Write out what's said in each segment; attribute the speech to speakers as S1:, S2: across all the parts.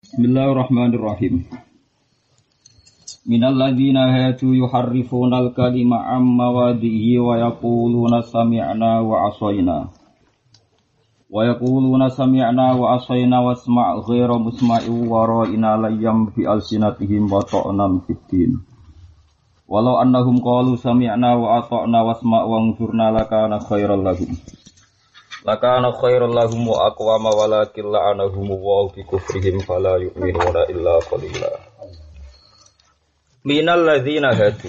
S1: Bismillahirrahmanirrahim. Minal ladzina hadu yuharrifunal kalima amma mawadhihi wa yaquluna sami'na wa asayna. Wa yaquluna sami'na wa asayna wasma' ghairu musma'in wa ra'ina layyam fi alsinatihim wa ta'nan fid din. Walau annahum qalu sami'na wa ata'na wasma' wa anzurna lakana khairal lahum. Lakana khairul lahum wa aqwama walakin la'anahum wa bi kufrihim fala yu'minuna illa qalila. Minal ladzina hadu.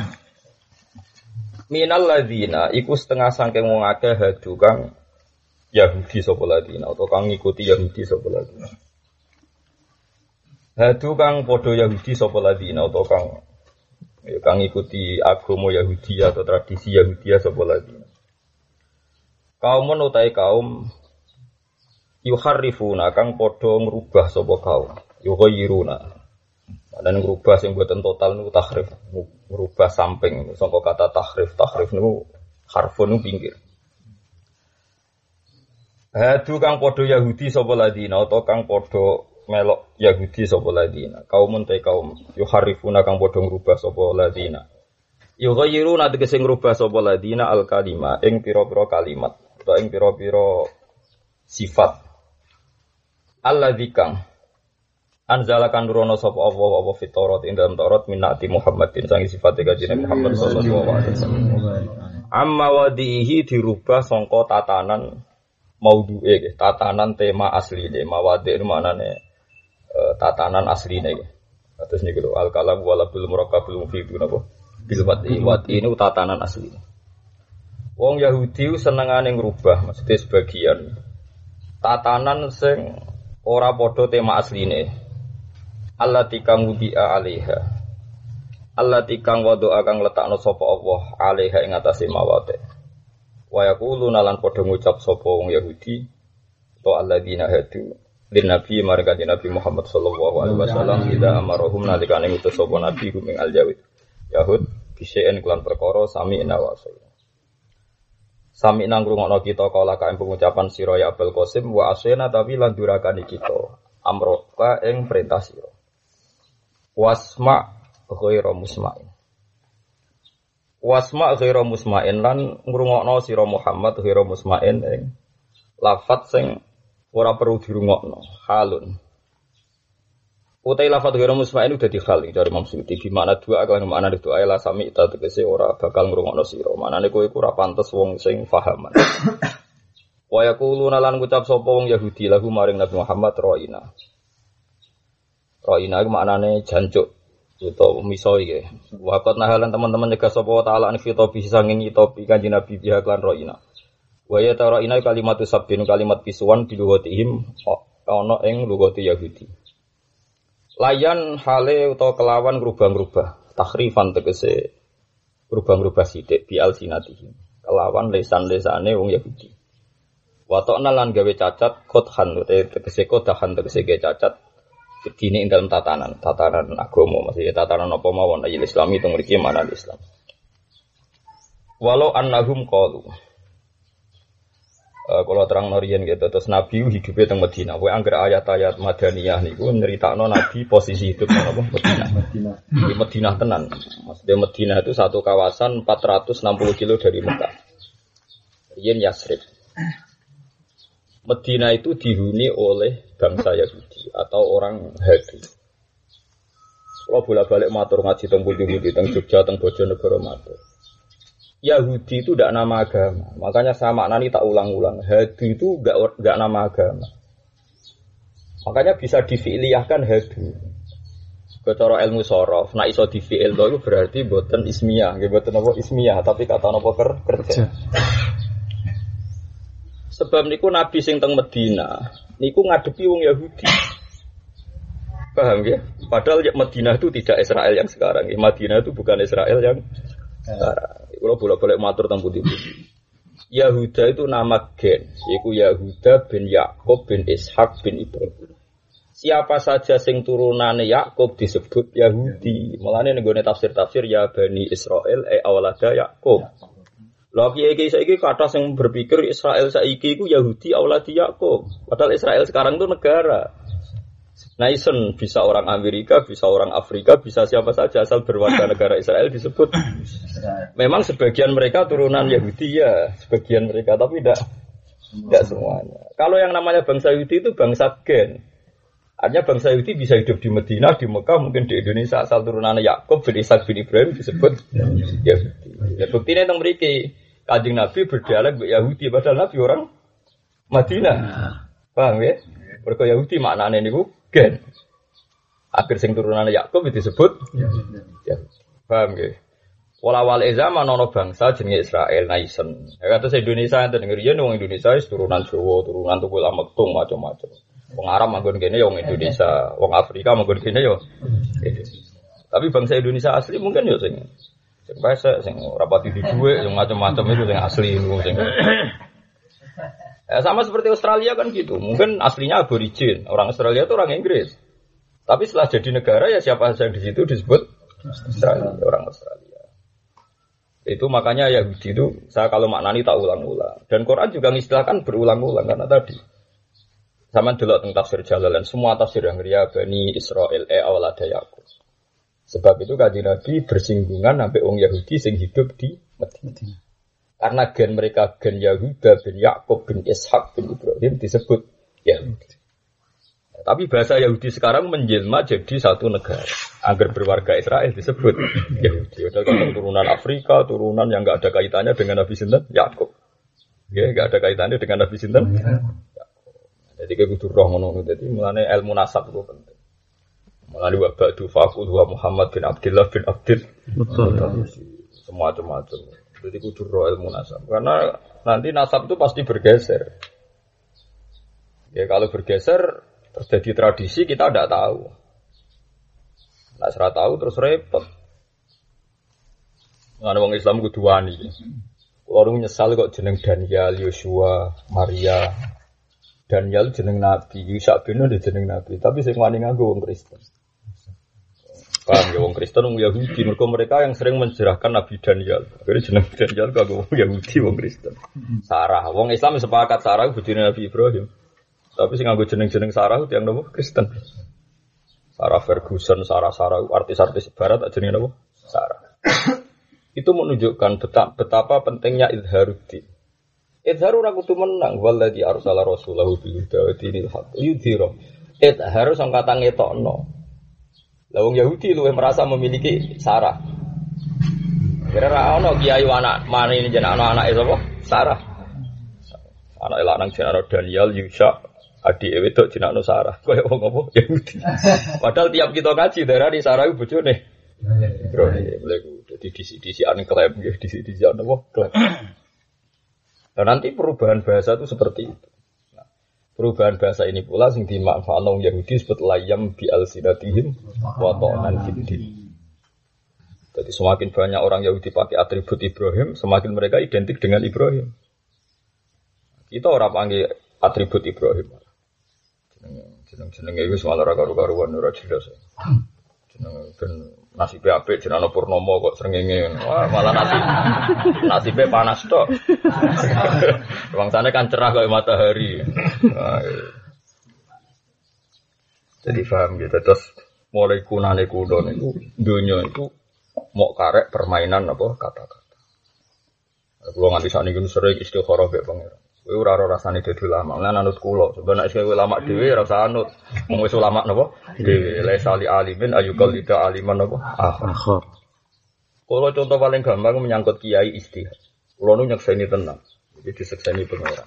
S1: Minal ladzina iku setengah saking wong akeh hadu kang Yahudi sapa ladzina utawa kang ngikuti Yahudi sapa ladzina. Hadu kang padha Yahudi sapa ladzina utawa kang ngikuti agama Yahudi atau tradisi Yahudi sapa ladzina. Kaumun utai kaum yuharrifuna kang padha ngrubah sapa kaum yughayyiruna dan ngrubah sing boten total niku tahrif ngrubah samping saka kata tahrif niku harfun niku pinggir hadu kang padha Yahudi sapa ladina utawa kang padha melok Yahudi sapa ladina kaumun utai kaum yuharrifuna kang padha ngrubah sapa ladina yughayyiruna tegese ngrubah sapa ladina al kalima ing pira-pira kalimat atau ing pira-pira sifat alladzikang anzalakan nurono sapa Allah fit Taurat ing dalam Taurat minnati Muhammadin sangi sifate kanjeng Muhammad sallallahu alaihi wasallam amma wadihi dirubah sangka tatanan maudhu'e tatanan tema asline mawadi itu maknane tatanan asline terus niku lho al kalam wala bil murakkabul mufid napa bil wati ini tatanan asline. Wong Yahudi senengane ngrubah, maksudnya sebagian tatanan sing ora padha tema asline. Allati kang wudi'a 'alaiha. Allati kang wadu'a kang letakno sapa Allah 'alaiha ing atase mawate. Wa yaquluna lan padha ngucap sapa wong Yahudi to alladzina hadu lin nabi marga Nabi Muhammad sallallahu alaihi wasallam ida amarahum nalikane ngutus sapa nabi ing al-Yahud. Yahud bise'en kelan perkara sami nawasai. Sami nang ngrungokno kita kala kae pengucapan sira ya Abul Qasim wa asena tapi lan durakani kita amroka ing perintah sira. Wasma ghairu musma'in. Wasma ghairu musma'in lan ngrungokno sira Muhammad ghairu musma'in ing lafaz sing ora perlu dirungokno halun. Utai lafaz ghairu musma'in udah dihal dari Imam Suyuti di makna dua kan makna itu la sami ta tegese ora bakal ngrungokno sira maknane kowe iku ora pantes wong sing pahaman wa yaquluna lan ngucap sapa wong Yahudi lahu maring Nabi Muhammad ra'ina iku maknane jancuk utawa miso iki waqat nahalan teman-teman nyegah sapa taala an fitopi sanging topi kanjeng Nabi biha lan ra'ina wa ya tara'ina kalimat sabbin kalimat pisuan di lugatihim ana ing lugati Yahudi. Layan hale utawa kelawan ngrubah-ngrubah tahrifan tegese ngrubah-ngrubah sithik bi alsinatihim kelawan lesan-lesane wong Yahudi wa ta'na lan gawe cacat qodhan tegese qodhan tegese gawe cacat dene ing dalam tatanan agama maksudnya tatanan apa mawon ayat Islami teng mriki mana Islam walau annahum qalu kalau terang norian gitu terus Nabi hidupnya teng Madinah. Kowe anggere ayat-ayat Madaniyah niku nyeritakno Nabi posisi hidup nang apa Madinah. Di Madinah tenan. Maksudnya Madinah itu satu kawasan 460 kilo dari Mekah. Riyen Yasrib. Madinah itu dihuni oleh bangsa Yahudi atau orang Hadu. Kalau bolak-balik matur ngaji teng pundi-pundi teng Jogja teng Bojonegoro matur. Yahudi itu tidak nama agama. Makanya sama nani tak ulang-ulang. Hadu itu enggak nama agama. Makanya bisa difi'liyahkan hadu. Kecara ilmu sorof, nak iso difi'il itu berarti boten ismiyah, boten apa ismiyah, tapi kata apa kerja. Sebab niku Nabi sing teng Medina, niku ngadepi wong Yahudi. Paham ya? Padahal Madinah itu tidak Israel yang sekarang. Madinah itu bukan Israel yang sekarang. Kalau bolak-balik matur tentang putih-putih. Yahuda itu nama gen, yaitu Yahuda bin Yakub bin Ishak bin Ibrahim. Siapa saja sing turunane Yakub disebut Yahudi. Mulane nenggone tafsir-tafsir ya Bani Israel awalada Yakub. Lha kiye-kiye saiki kathah sing berpikir Israel saiki iku Yahudi awaladi Yakub. Padahal Israel sekarang itu negara. Naisen bisa orang Amerika, bisa orang Afrika, bisa siapa saja asal berwarga negara Israel disebut. Memang sebagian mereka turunan Yahudi ya, sebagian mereka tapi tidak semuanya. Kalau yang namanya bangsa Yahudi itu bangsa gen. Artinya bangsa Yahudi bisa hidup di Madinah, di Mekah, mungkin di Indonesia asal turunan Yakub bin Ishak bin Ibrahim disebut Yahudi. Ya buktinya teng mriki Kanjeng Nabi berdialek Yahudi padahal Nabi orang Madinah. Paham ya? Mergo Yahudi maknane niku gen. Akhir sing turunan Yakub disebut ya. Paham nggih? Wala-wale zaman ana bangsa jenenge Israel naisen. Ya kados Indonesia enten ngriyen wong Indonesia wis turunan Jawa, turunan Tukul Amektung macam-macam. Wong Arab manggon kene ya wong Indonesia, wong Afrika manggon kene ya. Tapi bangsa Indonesia asli mungkin ya sing pesek, sing ora pati duwe, sing macam-macam itu sing asli niku sing. Ya, sama seperti Australia kan gitu. Mungkin aslinya aborigin. Orang Australia itu orang Inggris. Tapi setelah jadi negara ya siapa saja yang di situ disebut Australia, orang Australia. Itu makanya Yahudi itu saya kalau maknani tak ulang-ulang. Dan Quran juga mengistilahkan berulang-ulang karena tadi. Sama delok tentang tafsir Jalalain, semua tafsir yang ria Bani Israel awalada Yakub. Sebab itu Kanjeng Nabi bersinggungan sampai orang Yahudi sing hidup di Madinah. Karena gen mereka gen Yahuda bin Yakub bin Ishak bin Ibrahim disebut Yahudi. Tapi bahasa Yahudi sekarang menjelma jadi satu negara. Agar berwarga Israel disebut Yahudi. Ada turunan Afrika, turunan yang enggak ada kaitannya dengan Nabi Sinten Yakub. Ya, enggak ada kaitannya dengan Nabi Sinten Yakub. Jadi kudu roh ngono. Jadi mulane ilmu nasab itu penting. Mulane wa ba'du faqul wa Muhammad bin Abdullah bin Abdul semacam-macam. Jadi kudu roh ilmu nasab. Karena nanti nasab itu pasti bergeser. Ya kalau bergeser terjadi tradisi kita tidak tahu. Nah serah tahu terus repot. Ada orang Islam kudu wani. Orang nyesal kok jeneng Daniel, Yosua, Maria. Daniel jeneng Nabi, Yusak bin Nun jeneng Nabi. Tapi sing wani nganggo wong Kristen. Paham ya wong Kristen wong Yahudi mereka yang sering menjerahkan Nabi Daniel. Akhirnya jeneng Daniel kanggo wong Yahudi wong Kristen. Sarah, wong Islam sepakat Sarah bojone Nabi Ibrahim. Tapi sing nganggo jeneng-jeneng Sarah itu yang nopo Kristen. Sarah Ferguson, Sarah artis-artis barat tak jenenge nopo? Sarah. Itu menunjukkan betapa pentingnya izharuddin. Izhar ora kudu menang wallazi arsala rasulahu bil huda wa dinil haqq yudhira. Izhar sing kata ngetokno. Lah wong Yahudi luwih merasa memiliki Sarah. Kira-kira ana kiai anak mana ini jeneng anak-anake sapa? Sarah. Anak lanang jeneng Daniel, Yusha, adik wedok jeneng Sarah. Kaya wong apa Yahudi. Padahal tiap kita ngaji darani Sarah iku bojone. Bro, lha dadi disi-disian klaim nggih, disi-disian apa? Klaim. Dan nanti perubahan bahasa itu seperti itu. Perubahan bahasa ini pula sing dimanfaatkan orang Yahudi disebut layam bi alsinatihim wa ta'nan fiddin. Jadi semakin banyak orang Yahudi pakai atribut Ibrahim, semakin mereka identik dengan Ibrahim. Kita orang panggil atribut Ibrahim. Jeneng itu semua ora karu-karuan ora jelas. Jeneng ben nasibe apik jenenge Purnomo kok srengenge. Wah, malah nasibe panas tok. Bangsane kan cerah kayak matahari. Jadi paham gitu. Terus mulai kunane kudo niku donya itu mau karek permainan apa kata-kata. Kulo nganti sakniki sering istikharah mek pangeran. Kowe ora ora rasane dadi ulama. Lan anut kula, sebenarnya sing ulama dhewe ora usah anut. Wong wis ulama napa? Dhewe la sali alimin ayukal lida aliman napa? Akhir. Kalau contoh paling gampang menyangkut kiai istihad. Kulo nu nyekseni tenang. Jadi disekseni pangeran.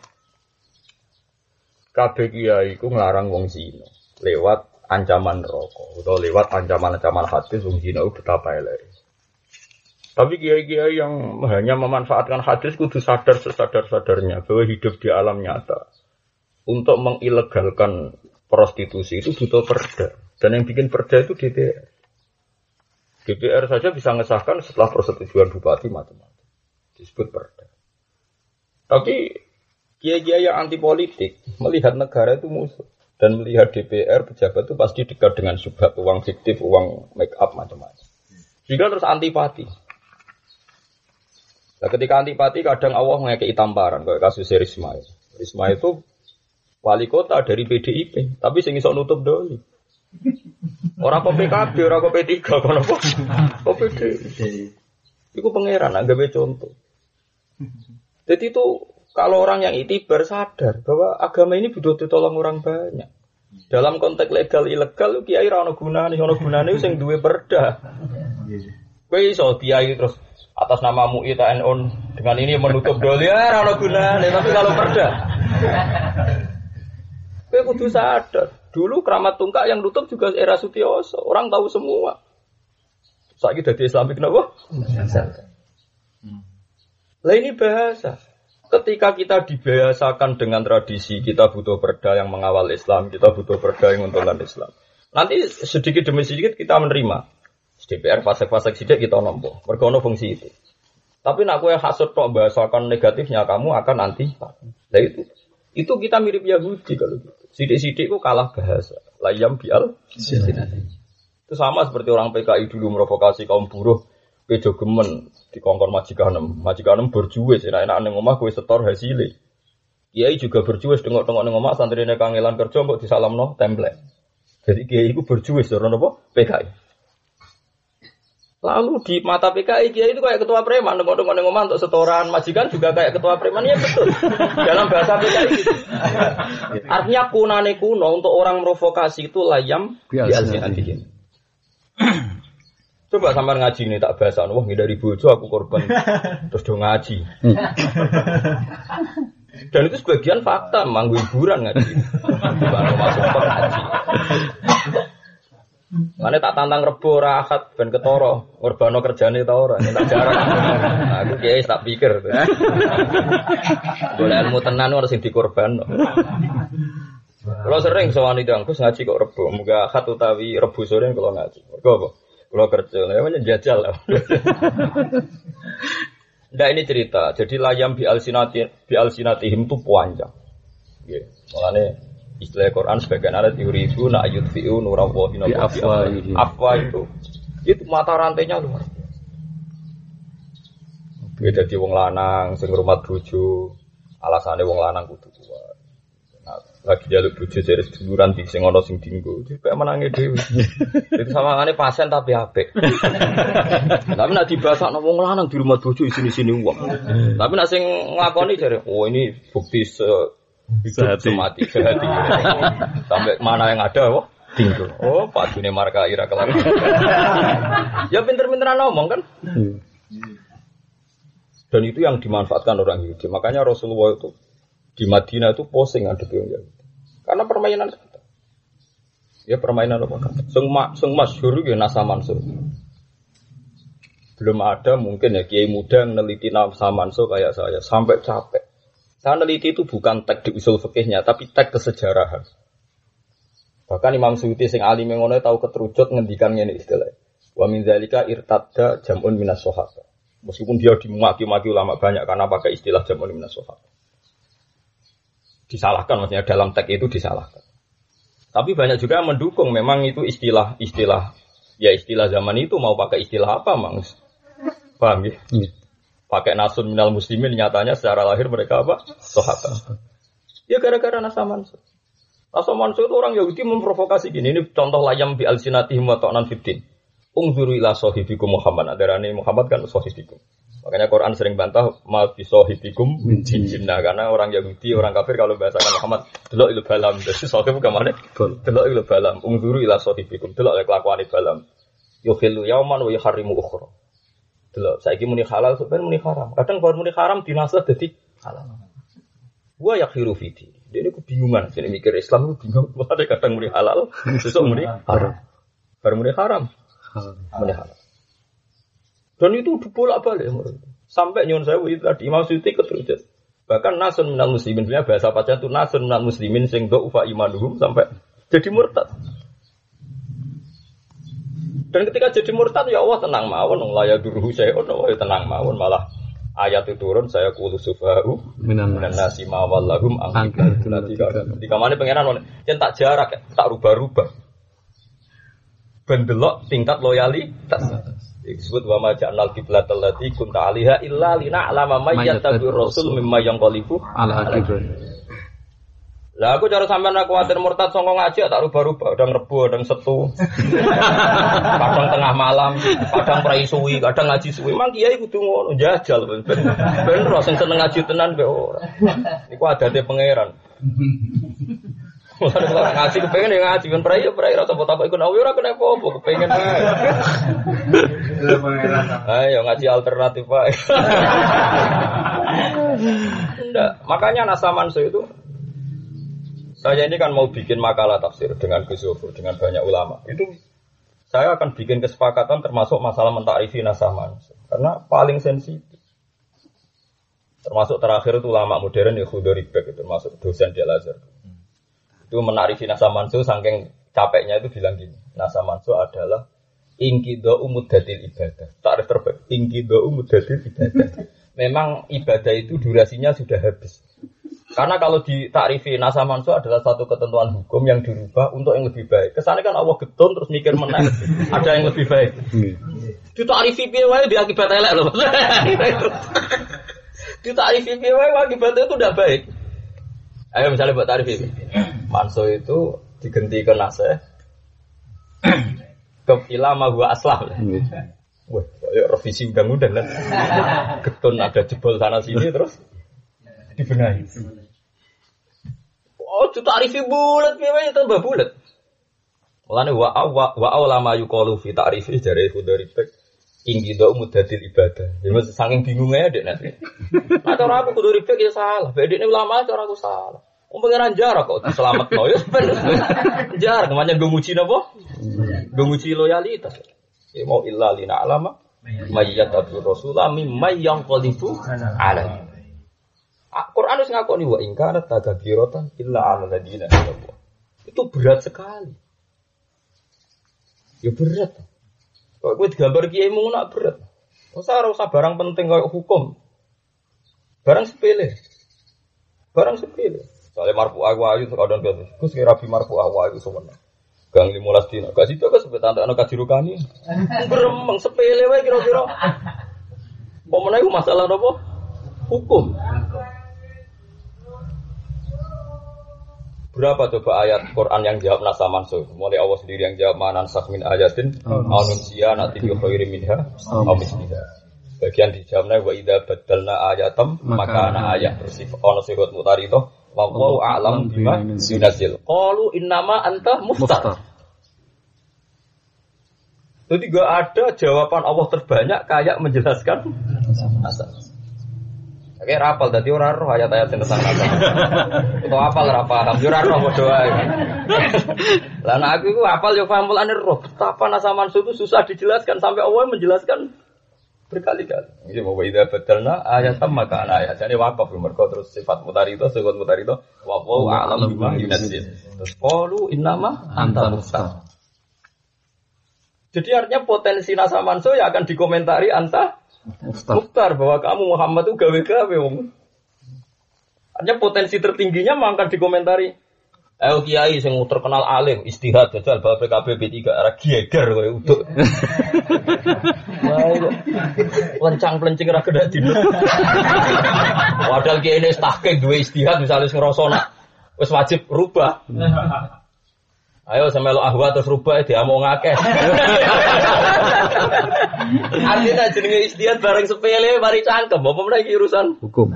S1: Kabeh kiai iku nglarang wong zina lewat ancaman neraka utawa lewat ancaman-ancaman hadis wong zina iku betapa eleke. Tapi kiai-kiai yang hanya memanfaatkan hadis kudu sadar sesadar-sadarnya bahwa hidup di alam nyata untuk mengilegalkan prostitusi itu butuh perda. Dan yang bikin perda itu DPR. DPR saja bisa mengesahkan setelah persetujuan bupati macam-macam. Disebut perda. Tapi kiai-kiai yang anti politik melihat negara itu musuh. Dan melihat DPR pejabat itu pasti dekat dengan subhat, uang fiktif, uang make up macam-macam. Sehingga terus antipati. Nah, ketika antipati kadang Allah mengekei tamparan kayak kasus Risma. Risma itu wali kota dari PDIP, tapi sing iso nutup doli. Ora kok PKB, ora kok P3 kono apa? Kok PD. Iku pangeran gawe contoh. Jadi itu kalau orang yang itibar sadar bahwa agama ini butuh ditolong orang banyak. Dalam konteks legal ilegal kiai ra ono gunane sing duwe perda. Kowe iso kiai terus atas nama MUI TNU dengan ini menutup dolia ra ono gunane, tapi kalau perda kowe kudu sadar. Dulu Keramat Tungkak yang tutup juga era Sutioso, orang tahu semua. Saiki dadi Islamik napa? Lah ini bahasa. Ketika kita dibiasakan dengan tradisi, kita butuh perda yang mengawal Islam, kita butuh perda yang menguntungkan Islam. Nanti sedikit demi sedikit kita menerima. DPR fasek-fasek sidik kita nampa. Mergo ono fungsi itu. Tapi nak kowe hasud tok bahasakan negatifnya kamu akan anti. Lah itu kita mirip Yahudi kalau gitu. Sidik-sidik itu kalah bahasa. Layam bial. Itu sama seperti orang PKI dulu merovokasi kaum buruh. Bejo gemen di kongkon majikanem berjuwis. Enak-enak neng omah kowe setor hasilnya. Kiai juga berjuwis tengok-tengok neng omah santrine kangelan kerja mbok disalamno template. Jadi kiai itu berjuwis ora napa PKI. Lalu di mata PKI kiai itu kayak ketua preman, tengok-tengok neng omah untuk setoran majikan juga kayak ketua preman, ya betul. Dalam bahasa PKI gitu. Artinya kunane kuno untuk orang provokasi itu layam bialsinatihim. Coba sampean ngaji nih tak bahasa, wah ngindari bojo aku korban terus do ngaji. Dan itu sebagian fakta, manggu hiburan ngaji. Baru masuk ngaji. Mane tak tantang rebo ora akad ben ketara, ngorbano kerjane ta ora, tak jarang. Aku kiai tak pikir. Golek ilmu tenan ora sing dikorbanno. Kalau sering sowan itu Gus ngaji kok rebo, muga akad utawi rebo sore kalau ngaji. Mergo apa? Kalau kerja, namanya jajal lah. Nah ini cerita. Jadi layam bi alsinatihim itu panjang. Yeah. Makanya istilah Quran sebagian ada yuridu na yudfi'u nurallahi bi afwahihim. Afwah itu mata rantainya luar biasa. Beda di wong lanang sing ngrumat bojo, alasane wong lanang kudu kuat. Nah, lagi jaluk bojo jare seduluran di sing ana sing dienggo. Dipek menange dhewe. Itu sawangane pasien tapi apik. Tapi nek dibasakno wong lanang di rumah bojo isine-isine wong. Tapi nek sing nglakoni jare, "Oh, ini bukti sehati. Sampai mana yang ada, wah, tinggal. Oh, Pak Dune marka ira kelar. Ya pinter-pinteran ngomong kan. Dan itu yang dimanfaatkan orang Yahudi. Makanya Rasulullah itu di Madinah itu posing ada orang Yahudi. Karena permainan kata. Ya permainan apa kata. Sing masyhur ya Nasa Mansur. Belum ada mungkin ya kiai muda yang neliti Nasa Mansur kayak saya sampai capek. Saya neliti itu bukan teks di usul fikihnya, tapi teks kesejarahan. Bahkan Imam Suyuti sing alim ngono tahu keterucut ngendikan ngene istilah. Wa min dzalika irtadda jam'un minas sahabah. Meskipun dia dimaki-maki ulama banyak karena pakai istilah jam'un minas sahabah. Disalahkan maksudnya dalam teks itu disalahkan. Tapi banyak juga yang mendukung memang itu istilah zaman itu mau pakai istilah apa, Mang? Paham ya? Pakai nasun minal muslimin nyatanya secara lahir mereka apa? Sahabat. Ya gara-gara Nasa Mansur. Nasa Mansur itu orang Yahudi memprovokasi gini. Ini contoh layam bi alsinatihim wa ta'nan fiddin. Ungzuru ila sahibikum Muhammad. Adarani Muhammad kan sahibikum. Makanya Quran sering bantah ma bi sahibikum min jinna karena orang Yahudi, orang kafir kalau bahasakan Muhammad delok il balam. Jadi sahib kemana? Delok il balam. Ungzuru ila sahibikum. Delok kelakuan balam. Yukhillu yauman wa yuharrimu ukhra. Delok saiki muni halal sebenarnya muni haram. Kadang baru muni haram dinasah dadi halal. Wa yakhiru fiti. Dia ini kebingungan. Jadi mikir Islam itu bingung. Ada kadang muni halal, besok muni haram. Baru muni haram. Muni halal. Dan itu dibolak-balik. Sampai nyuwun sewu itu tadi Imam Suyuti keterucut. Bahkan nasun minal muslimin, sebenarnya bahasa pacar itu nasun minal muslimin sing dha'ufa imanuhum sampai jadi murtad. Dan ketika jadi murtad ya Allah tenang mawon, la yaduruhu syai'un, wa tenang mawon, malah ayat itu turun saya qulu sufahu minan nasi ma wallahum an ketika mana pangeran yen tak jarak tak rubah-rubah. Ben delok tingkat loyalitas. Disebut wa ma ja'alnal qiblatal lati kunta 'alaiha illa lina'lama may yattabi'ur rasul mimma yanqalibu ala aqibah. Lah aku cara sampean aku kuwatir murtad sangka ngaji tak rubah-rubah, kadang rebo, kadang setu. Kadang tengah malam, kadang prai suwi, kadang ngaji suwi. Mang kiai kudu ngono, jajal ben ro sing seneng ngaji tenan be ora. Iku adate pangeran. Ora ngaji kepengin ya ngaji ben prai rasa apa iku ora kena apa-apa kepengin ae. Ayo ngaji alternatif wae. Enggak, makanya Nasa Mansur itu saya ini kan mau bikin makalah tafsir dengan Gus Zofur, dengan banyak ulama. Itu saya akan bikin kesepakatan termasuk masalah mentakrifi Nasa Mansur karena paling sensitif. Termasuk terakhir itu ulama modern ya Khudori Bek itu termasuk dosen di Al-Azhar. Itu menarifi Nasa Mansur saking capeknya itu bilang gini, Nasa Mansur adalah ingkido umuddatil ibadah. Takrif terbaik, ingkido umuddatil ibadah. Memang ibadah itu durasinya sudah habis. Karena kalau ditakrifi Nasa Mansur adalah satu ketentuan hukum yang dirubah untuk yang lebih baik. Kesannya kan Allah getun terus mikir menang ada yang lebih baik. Ditakrifi piye wae diakibat elek loh. Ditakrifi piye wae akibatnya itu udah baik. Ayo misalnya buat tarif ini. Mansur itu diganti ke Nasa ke ilama gua aslah. Wah, revisi undang-undang kan. Getun ada jebol sana sini terus dibenahi. Oh, itu tarifi bulat piye tambah bulat. Mulane wa ulama yuqalu fi ta'rifi jare Khudari Bek inggido muddatil ibadah. Ya mesti saking bingungnya dek nanti. Nah, cara aku Khudari Bek ya salah. Bedine ulama cara aku salah. Pengeran jarak kok diselametno ya ben. Jarak namanya nggo nguji napa? Nggo nguji loyalitas. Ya mau illa lina alama mayyatabi rasulullah mimma yanqalifu alaihi. Quran wis ngakoni wa in kana tagabiratan illa 'alal ladina amanu. Itu berat sekali. Ya berat. Kok kowe digambar kiai mung nak berat. Ora usah barang penting kayak hukum. Barang sepele. Barang sepele. Soale marfu ayu kadang kadang. Gus kira rabi marfu ayu sewenang. Gang 15 dina. Gak situ kok sebut ana kajirukani. Gremeng sepele wae kira-kira. Pomene iku masalah napa? Hukum. Berapa coba ayat Quran yang jawab Nasa Mansur? Mulai Allah sendiri yang jawab manan sakmin ayatin anuncia nanti bi khairin minha aw misliha. Bagian dijawabnya wa idza badalna ayatam maka ana ayat bersifat ana sifat mutarito wa wallahu a'lam bima yunzil. Qalu innama anta muftar. Jadi gak ada jawaban Allah terbanyak kayak menjelaskan Nasa. Oke, rapal dadi ora roh ayat-ayat sing tentang Nasa. Itu apal ora paham, yo ora roh padha wae. Lah nek aku iku apal yo paham mulane roh. Betapa Nasa Mansur itu susah dijelaskan sampai Allah menjelaskan berkali-kali. Iki mau ida betelna ayatam maka ayat. Jadi wakaf mergo terus sifat mutarito wa a'lam bima yunzil. Terus qalu innama anta muftar. Jadi artinya potensi Nasa Mansur ya akan dikomentari anta Muftar bahwa kamu Muhammad itu gawe-gawe wong. Artinya potensi tertingginya akan dikomentari. Ayo kiai sing terkenal alim, istihad jajal bab PKB B3 arah geger kowe uduk. Wah, lencang-plencing ra kedak dino. Padahal kiai ini tahqiq duwe istihad misalnya ngrasa nak wis wajib rubah. Ayo semelo ahwa terus rubah diamong akeh. Artinya jenenge istihad bareng sepele mari cangkem apa meneh iki urusan hukum.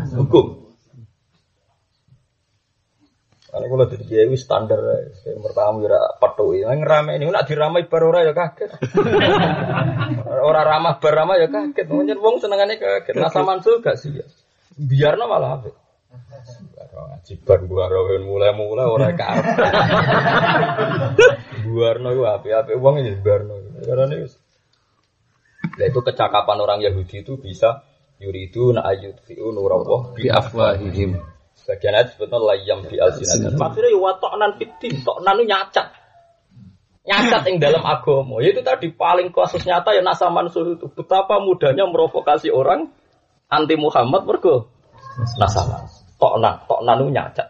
S1: Ana kula dadi kiai wis standar ae. Pertama ora pethuki. Nang ngerameni nek diramai bar ora ya kaget. Ora ramah bar ramah ya kaget. Wong senengane kaget. Nasa Mansur gak sih ya. Biarno malah apik. Ngajiban buaro mulai ora karep. Buarno ku apik-apik wong ya buarno. Karena wis. Lah itu kecakapan orang Yahudi itu bisa yuridu na ayyudfi'u nurallah bi afwahihim. Sebagian ayat sebetulnya layam bi alsinatihim. Maksudnya wa ta'nan fiddin, ta'nan itu nyacat. Nyacat yang dalam agama. Itu tadi paling kasus nyata ya Nasa Mansur itu. Betapa mudahnya merovokasi orang anti Muhammad mergo Nasa Mansur. Ta'nan itu nyacat.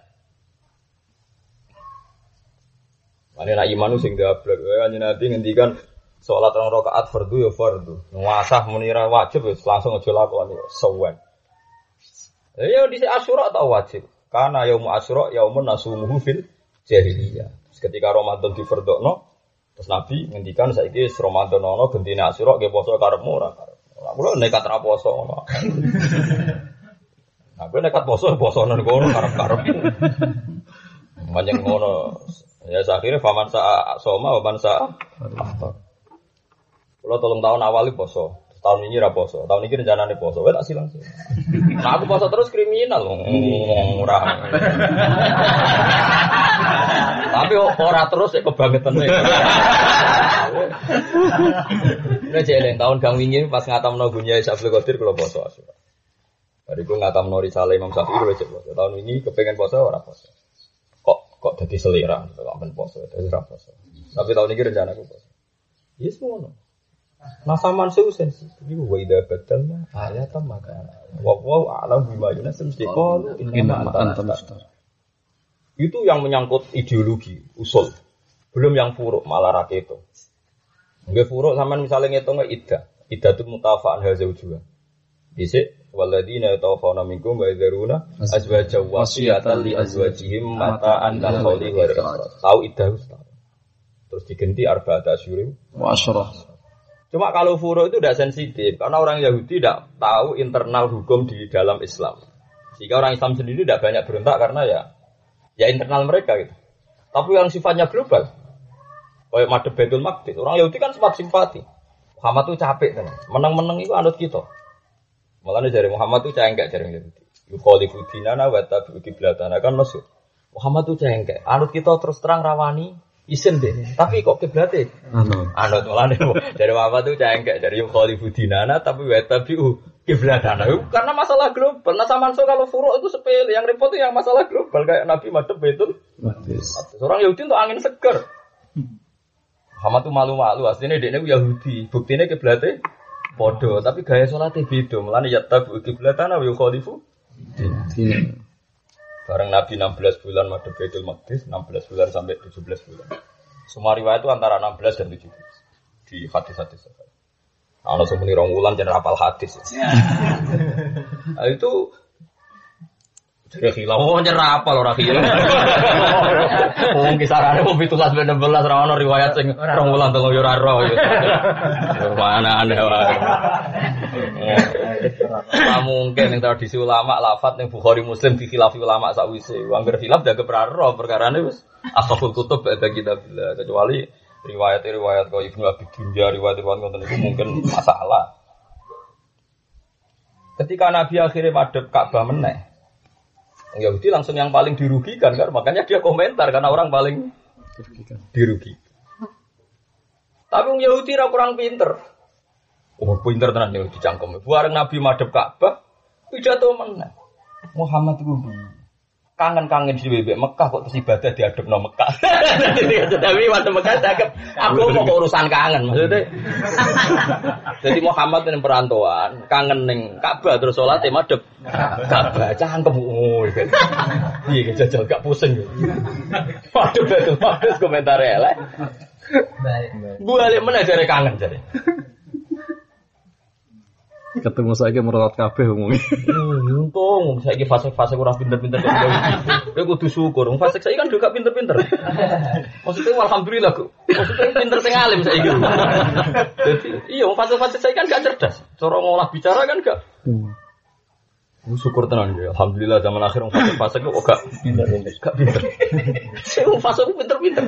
S1: Mane nak iman sing gablek wae nanti ngendikan salat 2 rakaat fardu ya fardu. Nguasah menira wajib wis langsung aja lakoni sewen. Ya di Asyura tau wajib. Karena yaum Asyura yaumun nasumuhu fil jahiliyah. Ketika Ramadan difardokno, terus Nabi ngendikan saiki Ramadan ono gentine Asyura nggih poso karepmu ora karep. Ora kula nekat ra poso ngono. Aku nekat poso nang kono karep-karep. Manjang ngono. Ya akhirnya faman sa soma wa man sa aftar. Kula 3 tahun awal poso. Tahun ini ra poso, tahun ini rencananya poso, tak silang sih. Nah aku poso terus kriminal, murah. Tapi ora terus ya kebangetan. Ini jeleng tahun kang wingi pas ngatamno Gunya Syabul Qadir kula poso. Bariku ngatamno Risalah Imam Syafi'i kula poso. Tahun ini kepengen poso ora poso. Kok dadi selera, kok ben poso, dadi ora poso. Tapi tahun ini rencanaku poso. Yes ngono. Nah saman sensitif. Iku wa idza badalna ayatan maka wa a'lam bima yunasim diqol inna anta mustar. Itu yang menyangkut ideologi, usul. Belum yang furuk malah ra keto. Nggih furuk sampean misale ngitung iddah itu mutafa'an hazaujuha. Dhisik waladina tawafana minkum wa yadruna azwaja wasiyatan li azwajihim mata'an lil khawli wa riqab. Tahu iddah terus diganti arba'ata asyurin wa asyra. Cuma kalau furu itu tidak sensitif karena orang Yahudi tidak tahu internal hukum di dalam Islam. Sehingga orang Islam sendiri tidak banyak berontak karena ya internal mereka gitu. Tapi yang sifatnya global, kayak madhep Baitul Maqdis, orang Yahudi kan sempat simpati. Muhammad itu capek kan, menang-menang itu anut kita. Malah dari Muhammad itu cengkek dari Yahudi. Yukhalifu dinana wa tabi'u qiblatana kan maksud. Muhammad itu cengkek, anut kita terus terang rawani. Isen deh, tapi kok kiblate? Anut mulane dari Muhammad tuh cengkek dari Khalifu dinana tapi wa tabi'u qiblatana. Karena masalah global. Nah sama kalau furu' itu sepele, yang repot itu yang masalah global kayak Nabi madhep Baitul Maqdis. Orang Yahudi untuk angin seger. Muhammad tuh malu-malu, aslinya dekne Yahudi, buktine kiblate padha, tapi gaya salate beda. Mulane ya tabi'u qiblatana wa Khalifu dinana. Bareng Nabi 16 bulan madhep Baitul Maqdis, 16 bulan sampai 17 bulan. Semua riwayat itu antara 16 dan 17 di hadis-hadis. Ana sing muni 2 wulan jan rapal hadis. Nah, itu jadi khilaf rapal ora khilaf. Wong kisarane wong 17 16 ra ono riwayat sing 2 wulan 3 yo ora ro. Mana aneh wae. Mungkin yang tradisi ulama lafat yang Bukhari Muslim dikhilafi ulama sakwise. Angger khilaf jaga peraro perkarane wis asful kutub ada kitab kecuali riwayat-riwayat kau Ibnu Abi Dunya riwayat-riwayat ngoten itu mungkin masalah. Ketika Nabi akhirnya madhep Ka'bah meneh. Yahudi langsung yang paling dirugikan kan makanya dia komentar karena orang paling dirugikan. Tapi Yahudi ra kurang pinter. Oh, pinter tenan yo dicangkem. Bareng Nabi madhep Ka'bah, pidato meneh. Muhammad itu kangen-kangen di bebek Mekah kok terus ibadah diadepno Mekah. Tapi waktu Mekah cakep, aku mau urusan kangen maksudnya. Jadi Muhammad ning perantauan, kangen ning Ka'bah terus salate madhep Ka'bah cangkem. Iya jajal gak pusing. Waduh betul bagus komentar elek. Baik. Balik meneh jare kangen jare.
S2: Ketemu saiki merotot kabeh umumnya.
S1: Untung saiki fase-fase kurang pinter-pinter kok. Kowe kudu syukur. Fase saiki kan juga pinter-pinter. Maksudnya alhamdulillah kok. Maksudnya pinter sing alim saiki. Jadi iya fase-fase saiki kan gak cerdas. Cara ngolah bicara kan gak. Syukur tenan ya. Alhamdulillah zaman akhir fase-fase kok gak pinter-pinter. Gak pinter. Sing fase pinter-pinter.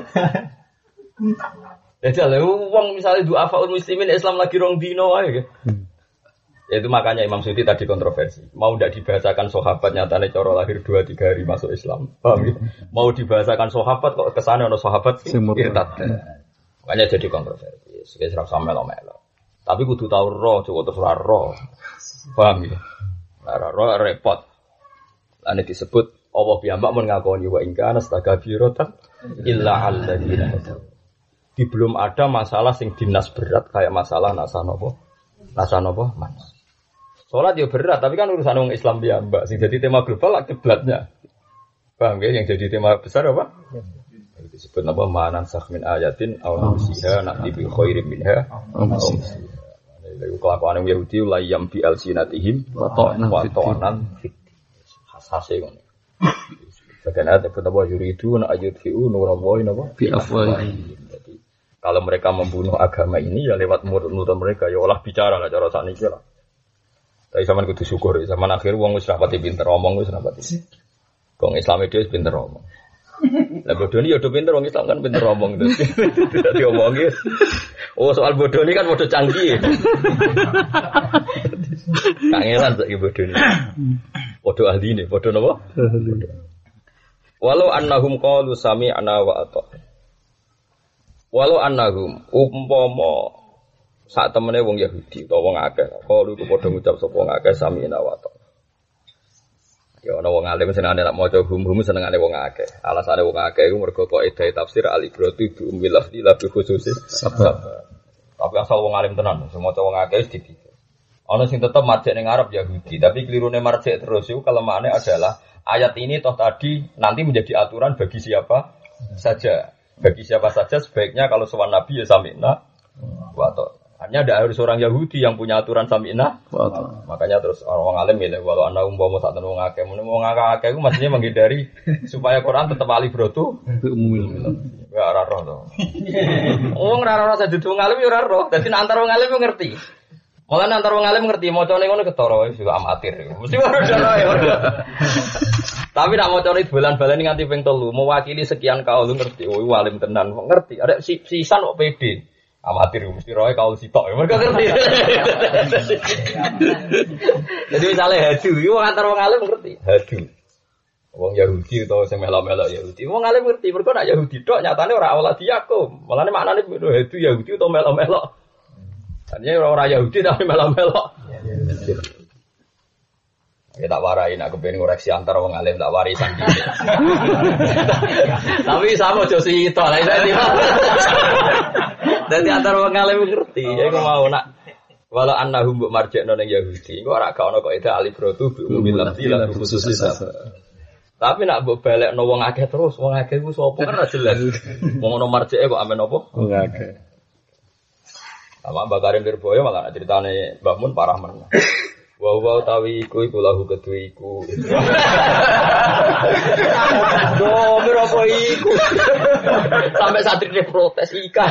S1: Ya lho wong misale du'afaul muslimin Islam lagi rong dino ae. Itu makanya Imam Suyuti tadi kontroversi. Mau tidak dibahasakan sahabat nyatane cara lahir 2-3 hari masuk Islam. Paham ya? Mau dibahasakan sahabat kok kesane ono sahabat irtad. Makanya jadi kontroversi. Wis ora sampe melo. Tapi kudu tau roh, cukup terus ora roh. Paham ya? Ora roh repot. Ane disebut Allah piyambak mun ngakoni wa in kana astagfiratan illa alladzina hadaw. Di belum ada masalah sing dinas berat kayak masalah nasa nopo manas. Sholat ya berat, tapi kan urusan orang Islam dia mbak. Sing jadi tema global lah kiblatnya. Paham ya? Yang jadi tema besar apa? Disebut apa? Manan sakmin ayatin aw nusiha na'ti bi khairin minha. Lalu kelakuan Yahudi la yam bi alsinatihim wa ta'nan fit. Hasase ngono. Bagian ayat apa yuridu na ayudfi'u nurallahi napa
S2: Bi afwahi.
S1: Jadi kalau mereka membunuh agama ini ya lewat mulut mereka ya olah bicara lah cara sakniki lah. Tapi sampean kudu syukur, zaman akhir wong wis rapati pinter omong wis rapati. Wong Islam itu wis pinter omong. Lah bodoni ya do pinter wong Islam kan pinter omong terus. Tidak diomongi. Oh soal bodoni kan bodoh canggih. Kangelan saiki bodoni. Bodoh ahli ne, bodoh napa? Walau annahum qalu sami'na wa ata'na. Walau annahum umpama sak temene wong Yahudi utawa wong akeh, qalu ku padha ngucap sapa wong akeh sami'na wa ata'na. Ya ana wong alim senengane nak maca hum-hum senengane wong akeh. Alasane wong akeh iku mergo kaidah tafsir al-ibratu bi ummil lafzi la bi khususis sabab. Tapi asal wong alim tenan, sing maca wong akeh wis dipikir. Ana sing tetep marjek ning Arab Yahudi, tapi kelirune marjek terus iku kelemahannya adalah ayat ini toh tadi nanti menjadi aturan bagi siapa saja. Bagi siapa saja sebaiknya kalau sowan Nabi ya sami'na wa ata'na. Hanya ada harus orang Yahudi yang punya aturan sami'na wa ata'na. Makanya terus orang alim milih walau ana umpama sak tenan wong akeh, wong akeh iku maksudnya menghindari supaya Quran tetap alibratu
S2: umum.
S1: Ya ora roh to. Wong ora roh sadhe wong alim ya ora roh. Dadi antara wong alim yo ngerti. Mulane antara wong alim ngerti macane ngono ketara wis juga amatir. Mesti ora roh ya. Tapi nak macane bulan-bulan nganti ping 3 mewakili sekian kaul ngerti. Oh alim tenan ngerti. Ada sisan kok pede. Amatir mesti roe kaul sitok. Mereka ngerti. Jadi misalnya hadu, wong antar wong alim ngerti. Hadu. Wong Yahudi utawa sing melok-melok Yahudi. Wong alim ngerti. Mergo nak Yahudi tok nyatane ora awal Yakub. Malane maknane hadu Yahudi utawa melok-melok. Artinya orang Yahudi tapi melok-melok. Ya tak warai nak kepen ngoreksi antar wong alim tak wari sangi. Tapi sama aja sito lah iki. Dadi antar wong alim ngerti, ya iku mau nak walau annahum mbok marjekno ning Yahudi, iku ora gak ono kok ida alibratu bi umumil lafzi lan khususis. Tapi nak mbok balekno wong akeh terus, wong akeh iku sapa kan ora jelas. Wong ono marjeke kok amen apa? Wong akeh. Sama Mbak Karim Lirboyo malah ceritane Mbak Mun parah men. Wow tawi iku lahu kedue iku. Domir apa iku? Sampai satrine protes ikan.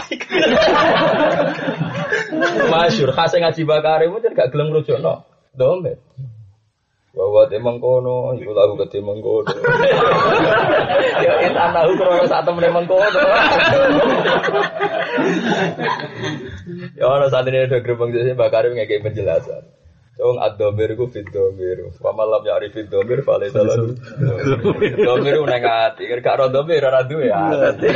S1: Masyhur khase ngaji Mbak Karim mungkin gak gelem ngrujukno. Domir. Wow temang kono iku lahu kedue mengkono. Ya kita tahu krono sak temene mengkono. Ya ana satrine do gerbang sing Mbak Karim ngekek penjelasan. Wong ad-dhamir iku fid-dhamir. Wa man lam ya'rif fid-dhamir fa laysa lahu. Dhamir nang ati, gak ro dhamir ora duwe ya.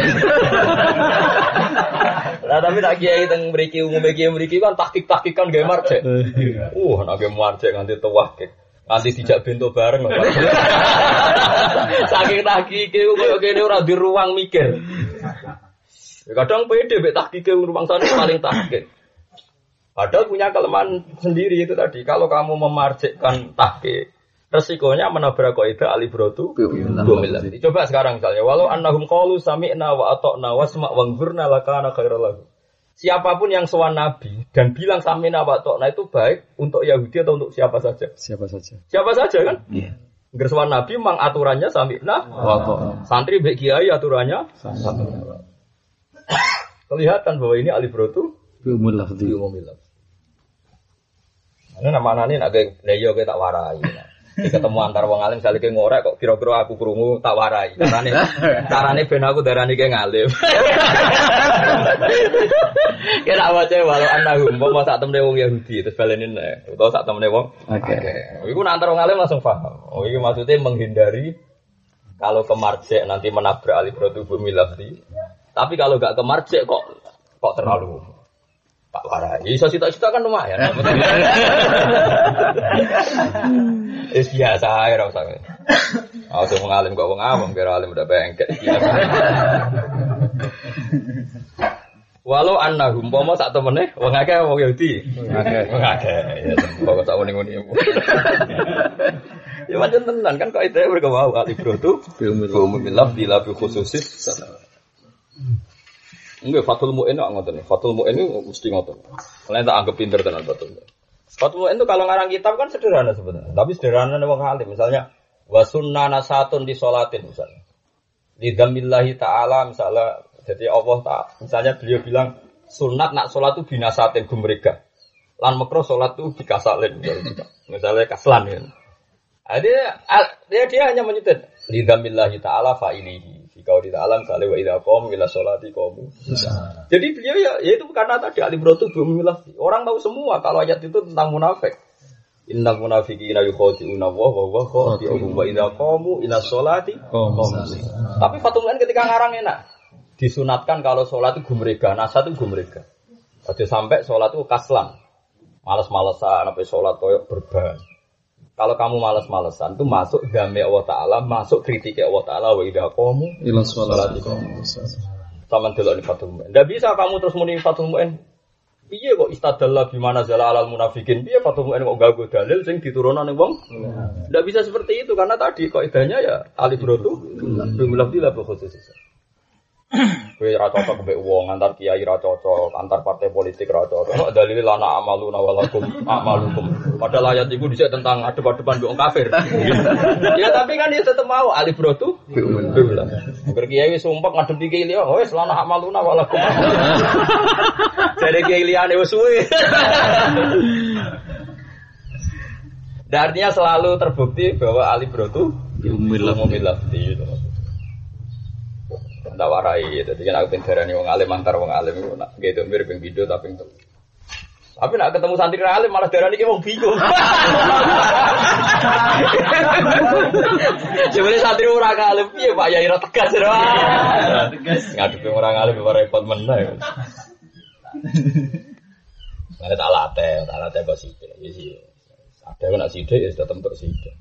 S1: Lah tapi tak kiai teng mriki umume kiai mriki kan tahqiq-tahqiqan gawe marjek. Nek gawe marjek nganti tuwahke. Nganti dijak bento bareng. Saking tahqiqe koyo kene ora di ruang mikir. Kadang pede mek tahqiqe ruang sana paling tahqiq. Padahal punya kelemahan sendiri itu tadi. Kalau kamu memarjekkan tahqiq, resikonya menabrak kaidah alibratu bumillah. Coba sekarang misalnya, walau annahum qalu sami'na wa ata'na wasma' wanzurna lakana khairal lahu. Siapapun yang sowan Nabi dan bilang sami'na wa ata'na itu baik untuk Yahudi atau untuk siapa saja? Siapa saja. Siapa saja kan? Iya. Yeah. Sowan Nabi memang aturannya sami'na wa ata'na. Santri mbek kiai aturannya sami'na. Kelihatan bahwa ini alibratu umumil lafzi. Ana namane nek leyo ke tak warai. Ketemu antar wong alim salike ngorek kok kira-kira aku krungu tak warai. Carane ben aku darani ke ngalim. Kira wae walau annahum umpama sak temne wong Yahudi terus baleni nek utawa sak temne wong. Oke. Iku antar wong alim langsung paham. Oh iki maksudnya menghindari kalau kemarjek nanti menabrak alibratu bumil lafzi. Tapi kalau enggak kemarjek kok terlalu tak warai. Iso cita-cita kan lumayan. Wis biasa ae ora usah. Aku ngalim kok wong awam kira alim udah bengkek. Walau annahum pomo sak temene wong akeh wong Yahudi. Wong akeh. Ya kok sak muni-muni. Ya pancen tenan kan kok itu berkewau alibratu umumil lafzi la bi khususis. Enggak, Fathul Mu'in kok ngoten. Fathul Mu'in itu mesti ngoten. Mulane tak anggap pinter tenan Fathul Mu'in. Fathul Mu'in itu kalau ngarang kitab kan sederhana sebenarnya. Tapi sederhana wong alim. Misalnya Wa sunnana satun di sholatin misalnya. Lidzamillahi ta'ala misalnya jadi Allah Ta'ala misalnya beliau bilang sunat nak sholat itu binasatin gumrega. Lan makruh sholat itu dikasalin misalnya kaslan ya. Dia hanya menyebut lidzamillahi ta'ala fa'ilihi. Jika di ta'ala misalnya wa idza qamu ila sholati qamu. Jadi beliau ya itu karena tadi alibratu bimilah. Orang tahu semua kalau ayat itu tentang munafik. Innal munafiqina yukhadi'una wa huwa khadi'uhum wa idza qamu ila sholati qamu. Tapi Fathul Mu'in ketika ngarang enak. Disunatkan kalau sholat itu gumrega, nasa itu gumrega. Jadi sampai sholat itu kaslan. Malas-malesan sampai sholat koyok berban. Kalau kamu malas-malesan itu masuk game Allah Ta'ala, masuk kritik Allah Ta'ala wa idza qamu ila sholati qamu. Sama delok ni Fathul Mu'in. Enggak bisa kamu terus muni Fathul Mu'in. Piye kok istadalla bimana zala alal munafikin? Piye Fathul Mu'in kok gago dalil sing diturunane wong? Ndak bisa seperti itu karena tadi kaidahnya ya alibratu bimilaf bila khusus. Kowe ra cocok mbek wong antar kiai ra cocok, antar partai politik ra cocok. Dalil lana amaluna walakum amalukum. Padahal ayat iku dhisik tentang adep-adepan mbek wong kafir. Ya tapi kan dia tetep mau alibratu bimilaf. Berkiai wis sumpek ngadepi kiai liya, wis lana amaluna walakum. Jadi kiai liyane wis suwe. Artinya selalu terbukti bahwa alibratu bimilaf itu. Ndak warai, jadi kan aku pinterane wong alim antar wong alim iku nak gitu mirip ping video tapi entuk. Tapi nak ketemu santri alim malah darani ki wong bingung. Jebule santri ora alim piye Pak Yai ra tegas ora. Tegas ngadepi orang alim ora repot meneh. Ada talate kok sithik. Wis ada kok nak sithik ya tetep tok sithik.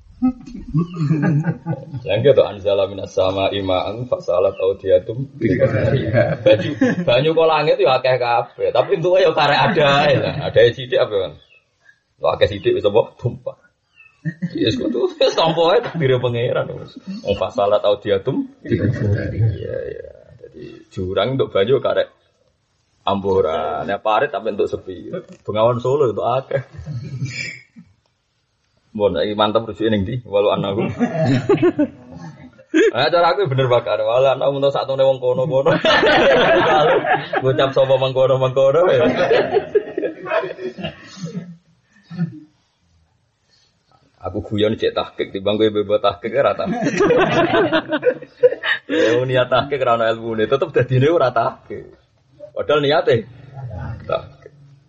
S1: Lagi tu anzala minas sama imaan fasalat audiatum banyu kok langit itu akeh kabeh tapi untuk yo karek ada sithik apa kan lho akeh sithik wis apa tumpah yes kudu wis tampa ae takdir pangeran wong fasalat audiatum iya jadi jurang untuk banyu karek amburan nek parit tapi untuk sepi Bengawan Solo itu akeh. Bon, iki mantap rujuke ning ndi? Walau anaku. Cara aku bener bakar. Walau anak mun sak tone wong kono-kono. Ngucap sapa mengkono-mengkono. Aku guyon cek tahqiq timbang kowe bebas tahqiq ora ta. Ya niat tahqiq ora ana ilmune, tetep dadine ora tahqiq. Padahal niate tahqiq.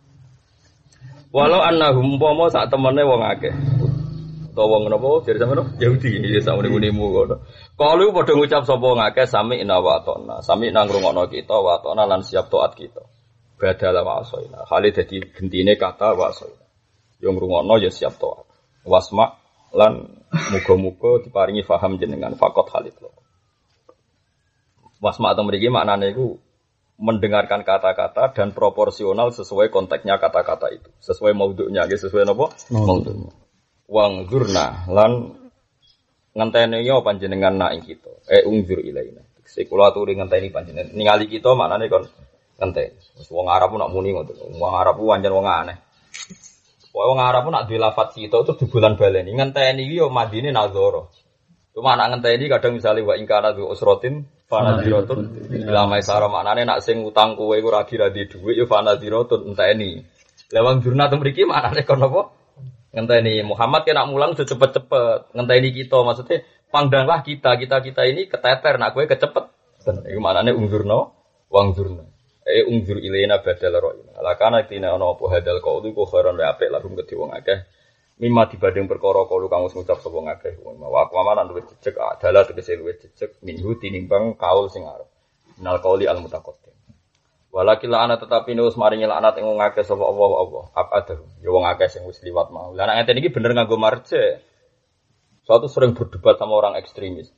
S1: Walau annahum umpama sak temene wong akeh. Utawa wong napa jare sampeyan Yahudi ya sak muni-munimu ngono. Kalu padha ngucap sapa ngakeh sami ina wa atona. Sami nang ngrungokno kita wa atona lan siap taat kita. Badala wa asoina. Hale dadi gentine kata wa asoina. Yo ngrungokno ya siap taat. Wasma lan muga-muga diparingi paham jenengan faqat halid lo. Wasma atau mriki maknane iku mendengarkan kata-kata dan proporsional sesuai konteksnya kata-kata itu. Sesuai maudhu'nya, sesuai napa? Maudhu'nya. Wang zurna lan ngenteni yo panjenengan nak ing kita. Ungzur ilaina. Sekula aturi ngenteni panjenengan. Ningali kita maknane kon ngenteni. Wis wong Arab nak muni ngoten. Wong Arab pancen wong aneh. Wong Arab nak duwe lafaz kita itu dibulan baleni. Ngenteni iki yo madine nazara. Cuma nak ngenteni kadang misale wa ingkana du usratin fanaziratun ila maisara maknane nak sing utang kowe iku ra kira di dhuwit yo fanaziratun enteni. Lah wong zurna to mriki maknane kon apa? Ngenteni Muhammad kena mulang udah cepet-cepet. Ngenteni kita maksudnya pandanglah kita ini keteter nak kowe kecepet. Iku maknane ungzurna wangzurna. Ungzur ilaina badal ra'ina. Lakana tina ana apa hadal qaulu ku khairan wa apik lahum kedhi wong akeh. Mimma dibanding perkara kalu kang wis ngucap sapa ngakeh wong. Wa kuamanan luwih jejeg adalah tegese luwih jejeg minhu tinimbang kaul sing arep. Minal qauli al mutaqaddim. Walakil ana tetapi nus maringi laknat ing wong akeh sapa Allah. Abada. Ya wong akeh sing wis liwat mau. Lah nek ngene iki bener nganggo marje. Suatu sering berdebat sama orang ekstremis.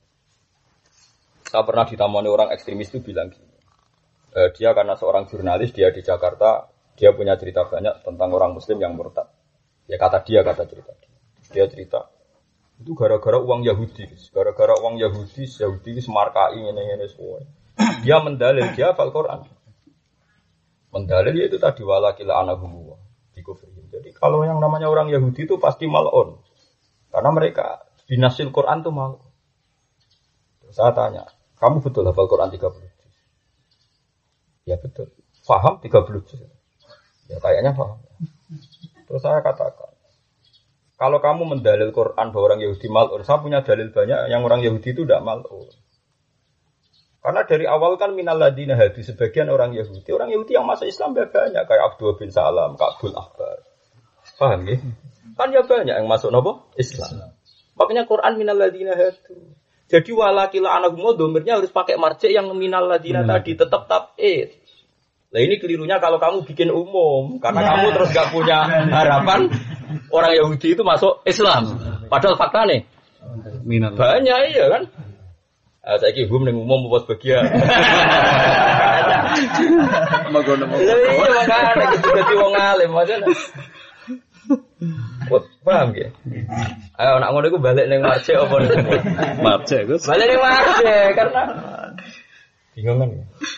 S1: Saya pernah ditamoni orang ekstremis itu bilang gini. Dia karena seorang jurnalis, dia di Jakarta, dia punya cerita banyak tentang orang muslim yang murtad. Ya kata cerita. Dia cerita itu gara-gara uang Yahudi. Gara-gara uang Yahudi semarkai ngene-ngene semua. Dia mendalil dia hafal Quran. Mendalil itu tadi walakil anahum dikufri. Jadi kalau yang namanya orang Yahudi itu pasti mal'un. Karena mereka Binasil Quran tuh malu. Saya tanya, kamu betul hafal Quran 30 juz? Ya betul. Faham 30 juz? Ya kayaknya paham. Terus saya katakan, kalau kamu mendalil Quran bahwa orang Yahudi mal'un, saya punya dalil banyak yang orang Yahudi itu tidak mal'un. Karena dari awal kan minal ladina hadi, sebagian orang Yahudi yang masuk Islam banyak, kayak Abdul bin Salam, Ka'bul Ahbar. Paham ya? Kan ya banyak yang masuk nopo Islam. Makanya Quran minal ladina hadi. Jadi walakila anagum domirnya harus pakai marji yang minal ladina tadi, tetap tab'id. Nah ini kelirunya kalau kamu bikin umum, karena kamu terus gak punya harapan orang Yahudi itu masuk Islam. Padahal fakta nih banyak iya kan. Saya kira umum yang umum buat bagian. Iya makanya gitu jadi wong alim aja. Paham ya? Ayo nak ngono iku balik ning marje apa ning
S2: marje Gus.
S1: Balik ning marje karena bingung kan.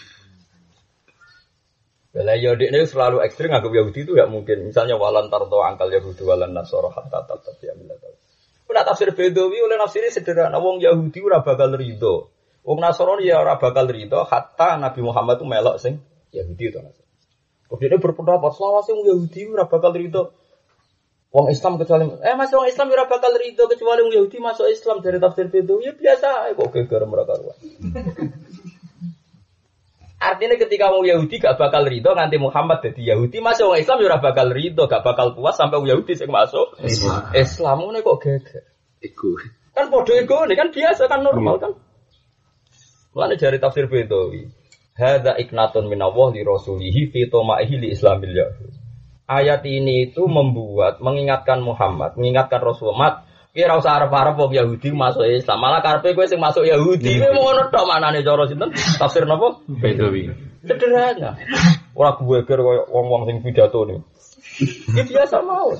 S1: Bela Yahudi ini selalu ekstrim anggap Yahudi itu enggak mungkin. Misalnya walan tardo angkal Yahudi walan Nasara hatta tabi'a millatahum. Ora tafsir Bedawi oleh nafsiri sederhana wong Yahudi ora bakal rido. Wong Nasrani ya ora bakal rido hatta Nabi Muhammad itu melok sing Yahudi itu Nasrani. Kok dia berpendapat selawase wong Yahudi ora bakal rido. Wong Islam kecuali masih wong Islam ora bakal rido kecuali wong Yahudi masuk Islam dari tafsir Bedawi ya biasa kok geger mereka ruwet. Artinya ketika wong Yahudi gak bakal rido nganti Muhammad jadi Yahudi masuk wong Islam ya ora bakal rido gak bakal puas sampai wong Yahudi sing masuk Islam ngene kok geger. Ego. Kan podo ego ini kan biasa kan normal kan. Mulane jari tafsir Bedawi. Hadza iknatun minallah li rasulihi fi tomaihi li islamil yahud. Ayat ini itu mengingatkan Muhammad, mengingatkan Rasulullah. Kira usah arep-arep wong Yahudi masuk Islam. Malah karepe kowe sing masuk Yahudi kowe ngono tok manane cara sinten? Tafsir napa? Bedawi. Sederhana. Ora geger koyo wong-wong sing pidato niku. Iki biasa mau.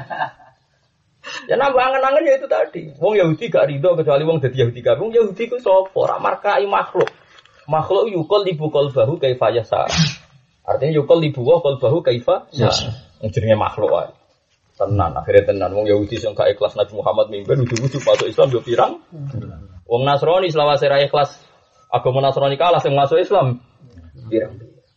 S1: Ya nambah angen-angen ya itu tadi. Wong Yahudi gak rido kecuali wong dadi Yahudi kabeh. Wong Yahudi ku sapa? Ora markai makhluk. Makhluk yukol libu qalbahu kaifa yasa. Artinya yukol libu qalbahu kaifa yasa. Jenenge makhluk wae. Tenan akhirnya tenan wong Yahudi sing gak ikhlas Nabi Muhammad mimpen ujug-ujug masuk Islam yo pirang. Wong Nasrani selawase ra ikhlas agama Nasrani kalah sing masuk Islam pirang.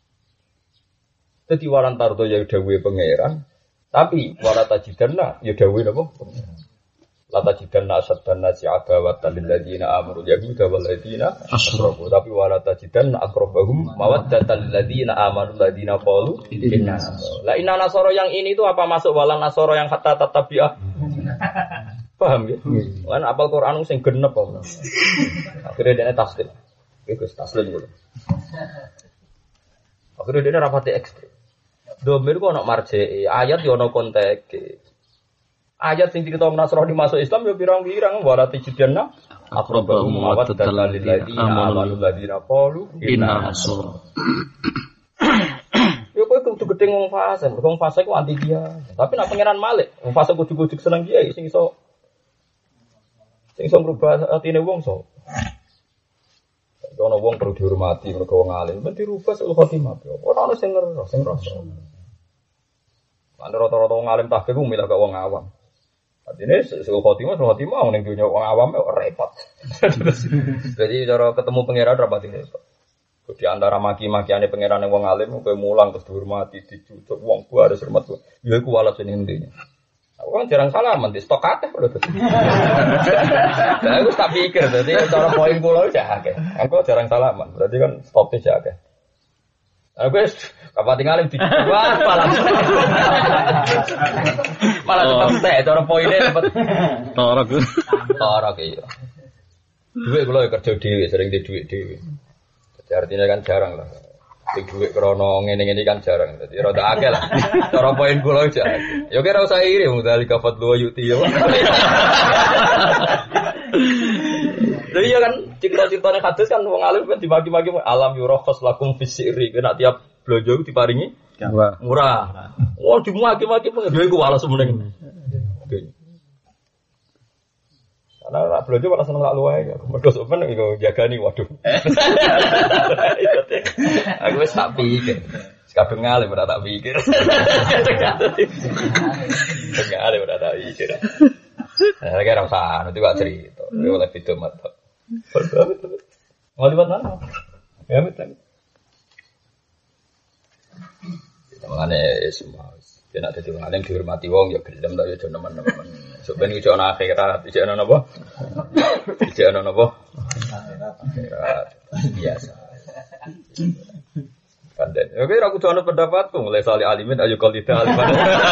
S1: Dadi waran tardo ya dawuhe pangeran. Tapi wala tajidanna ya dawuhe napa? La tajidanna asaddan nasi adawatan lil ladina amanu yahuda wal ladina asyraku. Tapi wala tajidanna aqrabahum mawaddatan lil ladina amanu ladina qalu inna. Lah inna nasara yang ini itu apa masuk wala nasara yang hatta tatabi'ah? Paham ya? Kan apal Quran sing genep apa. Akhirnya dene taslim. Iku taslim dulu. Akhirnya dene rapati ekstrem. Domir kok ana marjee, ayat yo ana konteke. Ayat sing cerita Nasrani masuk Islam yo pirang-pirang warati jidanna aqrabahum mawaddatan lil ladina amanu ladina qalu inna nasara. Yo kowe kudu gedhe wong fase, wong fase ku anti dia. Tapi nek pangeran Malik, wong fase kudu-kudu seneng dia sing iso ngrubah atine wong so. Ono wong perlu dihormati mergo wong alim, men dirubah sul khotimah. Ora ono sing ngeros, sing rasa. Kan rata-rata wong alim tahqiq ku milih gak wong awam. Artine sul khotimah ning dunya wong awam repot. Jadi cara ketemu pangeran rapati repot. Di antara maki-makiane pangeran wong alim kowe mulang terus dihormati, dicucuk wong ku harus hormat. Ya iku walat sing intinya. Aku kan jarang salaman di stok akeh lho. Aku tak pikir dadi cara poin kula wis akeh. Aku jarang salaman, berarti kan stoknya wis akeh. Aku wis kapan tinggalin di malah tetep cara poinnya dapat torok iya. Duit kula kerja dhewe, sering di duit dhewe. Jadi artinya kan jarang lah. Di duit krono ngene-ngene kan jarang. Dadi rada akeh lah. Cara poin kula aja. Ya kira usah iri mudali kafat lu yuti ya. Lha iya kan cerita-ceritane hadis kan wong alim kan dibagi-bagi alam yurakhas lakum fisiri. Kena tiap blojo diparingi murah. Oh dimaki-maki pengen iku walas meneng. Karena rak blojo malah seneng lak luwe. Mergo sampean iku jagani waduh. Aku wis tak pikir. Kabeh ngale ora tak pikir. Ngale ora tak pikir. Nah, kira usah nanti gak cerita. Oleh video mata. Mau lihat mana? Ya betul. Mengenai semua. Dia nak jadi orang yang dihormati wong ya gelem tak ya teman-teman. Sebenarnya itu ana akhirat, itu ana apa? Itu ana apa? Akhirat biasa. Pandai. Oke, aku tuh ana pendapatku mulai salih alimin ayo qalida aliman.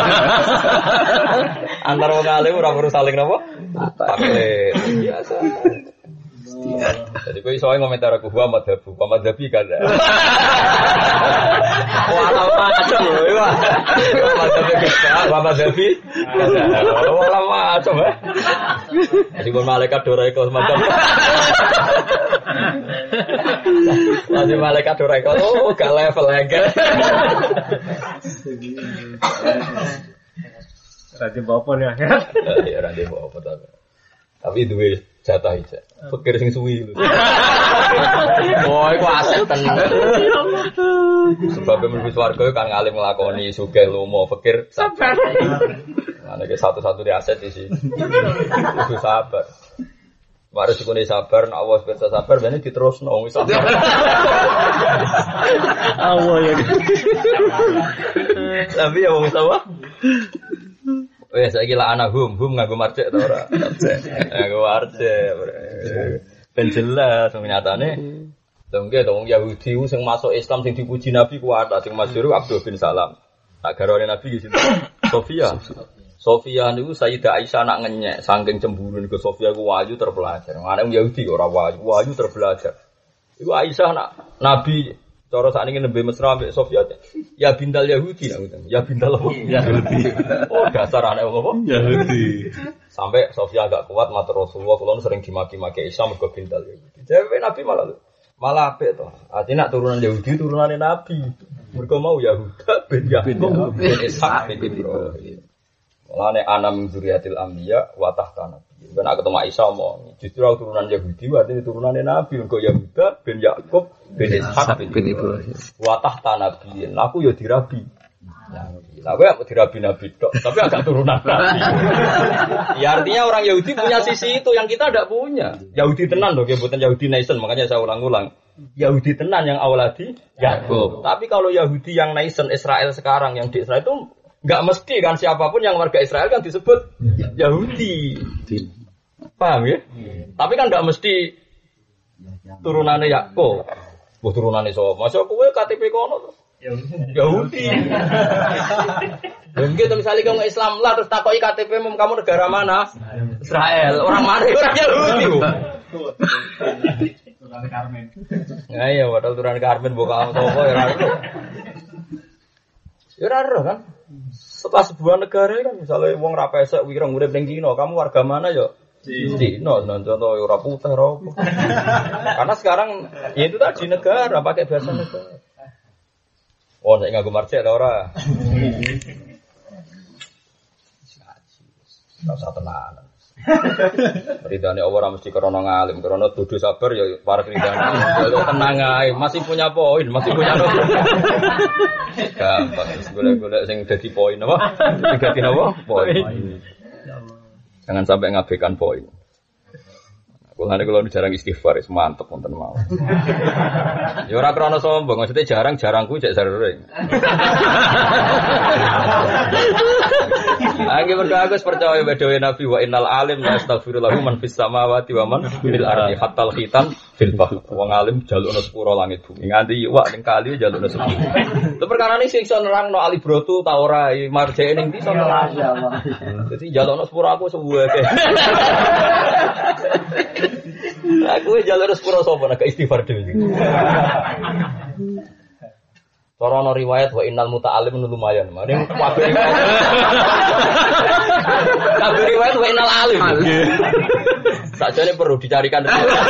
S1: Antara wong alim ora perlu saling napa? Taklid. Biasa. Jadi kau iso ngomentar aku Muhammad Dhabi kan. Wala macam lho. Muhammad Dhabi. Wala macam eh. Jadi pun malaikat doraiko semacam. Masih malaikat doraiko gak level lagi.
S3: Raja bapak nih akhirat.
S1: Iya raja bapak tapi duwe jatah aja. Pikir sing suwi lho. Oh, iku aset tenan. Sebab mlebu swarga kan ngalim nglakoni sugih lomo, pikir sabar. Ana iki satu-satu di aset isi. Kudu sabar. Mare sikone sabar, nek awas bisa sabar ben diterusno wis sabar.
S3: Allah ya.
S1: Tapi ya wong sapa? Wes saiki la ana hum nganggo marjek ta ora? Nganggo marjek. Ben jelas nyatane. Lha nggih to wong Yahudi sing masuk Islam sing dipuji Nabi kuat, sing masyhur Abdul bin Salam. Tak garwane Nabi di sini. Sofia niku Sayyidah Aisyah nak ngenyek saking cemburu niku Sofia ku wayu terpelajar. Ana wong Yahudi ora wayu terpelajar. Iku Aisyah nak Nabi cara sakniki nembe mesra mbek Sofia. Ya bintal Yahudi ya bintal Yahudi. Oh dasar anak apa?
S2: Yahudi.
S1: Sampai Sofia agak kuat matur Rasulullah kula sering dimaki-maki Isa mergo bintal Yahudi. Dewe Nabi malah apik to. Artinya nak turunan Yahudi turunane Nabi. Mergo mau Yahuda bin Yakub bin Ishak bin Ibrahim. Mulane ana min dzurriyyatil anbiya wa tahta nabi. Ben aku ketemu Isa omong, justru aku turunan Yahudi berarti turunane Nabi mergo Yahuda bin Yakub bin Ishak bin Ibrahim. Wa tahta nabi. Aku ya dirabi. Aku ya dirabi Nabi tok, tapi agak turunan Nabi. Ya artinya orang Yahudi punya sisi itu yang kita tidak punya. Yahudi tenan loh, bukan Yahudi nation, makanya saya ulang-ulang. Yahudi tenan yang awaladi Yakub. Tapi kalau Yahudi yang nation Israel sekarang yang di Israel itu enggak mesti kan siapapun yang warga Israel kan disebut Yahudi. Paham ya? Tapi kan enggak mesti turunannya Yakub. Buh turunannya sapa? Masa kowe KTP kono to? Yahudi. Mungkin misalnya kamu Islam lah terus takoki KTP kamu negara mana? Israel. Orang mana? Orang Yahudi.
S3: Turunan Karmen.
S1: Ya iya, padahal turunan Karmen bukan apa ya ora. Ya ora kan. Setelah sebuah negara kan misalnya wong ra pesek wireng urip ning Cina, kamu warga mana ya? Cina, contoh ora putih ora apa. Karena sekarang ya itu tadi negara pakai bahasa negara. Oh, nek nganggo marjek ta ora? Rasa tenanan. Ridane Allah ora mesti krana ngalim, krana dudu sabar ya para ridane. Ya tenang ae, masih punya poin, masih punya nomor. Gampang golek-golek sing dadi poin apa? Sing dadi apa? Poin. Jangan sampai ngabaikan poin. Kulane kalau jarang istighfar, mantep wonten mau. Ya ora krana sombong, maksudnya jarang-jarangku cek sering. Angge mergo aku percaya bedoe Nabi wa innal alim la astaghfirullahu man fis samawati wa man fil ardi hatta al khitan fil bahr. Wong alim jalukna sepuro langit bumi. Nganti iwak ning kali jalukna sepuro. Itu perkara ini sing iso nerangno alibrotu ta ora marjeke ning ndi iso nerang. Dadi jalukna sepuro aku suwe. Aku jalur sepuro sapa nek istighfar dhewe. Cara ana riwayat wa innal muta'allim lumayan. Mending kabeh riwayat wa innal alim. Sakjane perlu dicarikan.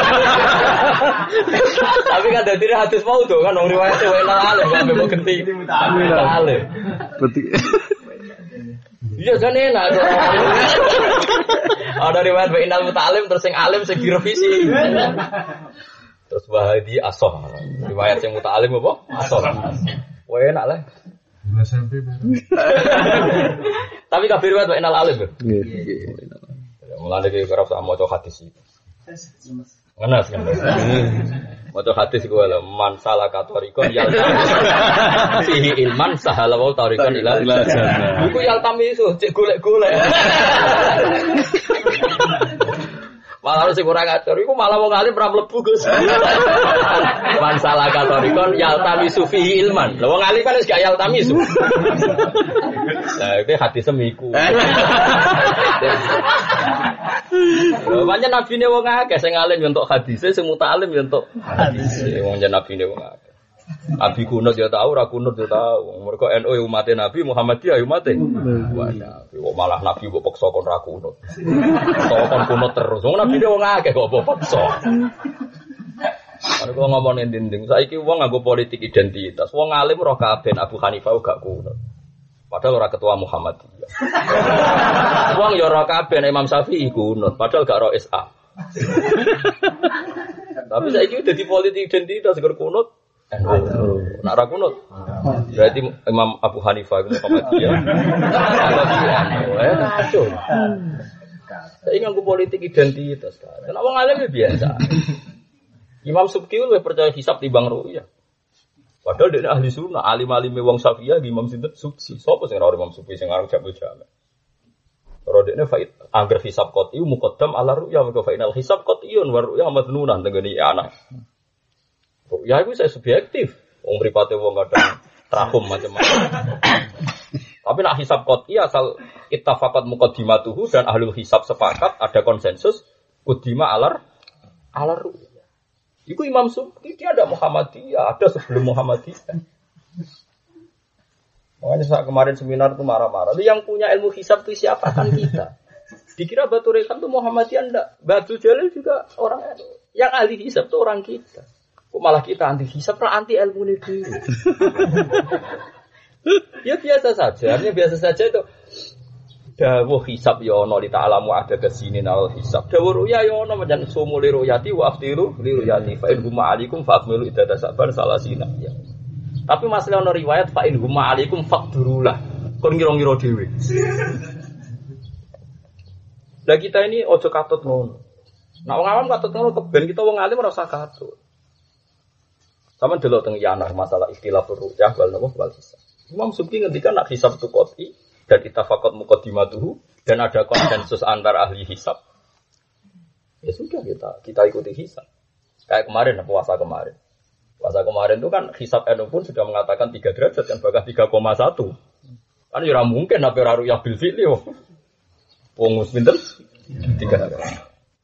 S1: Tapi kan dadi hadis mau to kan wong riwayat wa innal alim kabeh mau genti muta'allim.
S2: Berarti
S1: iya jane enak. Ada riwayat wa innal muta'allim terus sing alim sing direvisi. Terus wahadi asoh. Riwayat yang muta'alim apa? Asoh. Wah enak lah.
S3: SMP baru.
S1: Tapi kabeh riwayat wa innal alim. Mulane iki kerep sak maca hadis iki. Ngenes. Maca hadis iku lho, man salaka tariqan fihi ilman sahala wa tariqan ila jannah. Iku yaltami iso cek golek-golek. Malah sing ora ngatur iku malah wong alim ora mlebu Gus. Man salaka tariqan yaltami fihi ilman. Lha wong alim kan wis gak yaltami iso. Lah iki hadis semiku. Banyak nabi ne wong akeh sing alim yo entuk hadise, sing mutalim yo entuk hadise. Wong jan nabi ne wong akeh. Nabi kunut yo tau, ora kunut yo tau. Mergo NU umate Nabi, Muhammadiyah umate. Wah, nabi kok malah nabi kok paksa kon ra kunut. Kon kunut terus. Wong nabi ne wong akeh kok paksa. Ana kok ngomong nding-nding. Saiki wong nganggo politik identitas. Wong alim roh kabeh Abu Hanifah gak kunut. Padahal ora ketua Muhammadiyah. Wong ya ora kabeh Imam Syafi'i kunut, padahal gak ro SA. Tapi saiki dadi politik identitas seger kunut. Nak ora kunut. Berarti Imam Abu Hanifah iku Muhammadiyah. Kacau. Saiki nganggo politik identitas kan. Nek wong alim biasa. Imam Subki luwih percaya hisab timbang ru'yah. Padahal dia ahli sunnah, alim-alime wong Syafi'iyah Imam sinten Subki. Sopo sing ora Imam Subki sing aran Jabul Jami'. Ora dekne faid angger hisab qat'i muqaddam ala ru'ya wa fa'inal hisab qat'iyun wa ru'ya madnunan tengene anak. Ya iku saya subjektif. Wong mripate wong kadang trahum macam-macam. Tapi nak hisab qat'i asal ittafaqat muqaddimatuhu dan ahlul hisab sepakat ada konsensus qudima ala ru'ya. Itu Imam Subki, dia ada Muhammadiyah, ada sebelum Muhammadiyah. Makanya saat kemarin seminar itu marah-marah. Yang punya ilmu hisab itu siapa kan kita? Dikira Batu Rekan itu Muhammadiyah enggak. Batu Jalil juga orang yang ahli hisab itu orang kita. Kok malah kita anti hisab, anti ilmu ini dulu. Ya biasa saja, artinya biasa saja itu. Dawuh hisab ya ana li ta'lamu ada kesini nal hisab. Dawuh ruya ya ana menjan sumuli ruyati wa aftiru li ruyati fa in huma alaikum fa akmilu iddah sabar salasina ya. Tapi masalah ana riwayat fa in huma alaikum faqdurulah. Kon ngira-ngira dhewe. Lah kita ini ojo katut ngono. Nek wong awam katut ngono keben kita wong alim ora usah katut. Sampeyan delok teng Yanar masalah ikhtilaf ru'yah wal napa wal hisab. Imam Subki ngendikan nak hisab itu qat'i dan ittafaqat muqaddimatuhu dan ada konsensus antar ahli hisab. Ya sudah kita ikuti hisab. Kayak kemarin puasa kemarin. Puasa kemarin itu kan hisab NU pun sudah mengatakan 3 derajat kan bahkan 3,1. Kan ya mungkin apa ora ru'yah bil fi'li yo. Wong pinten? 3 derajat.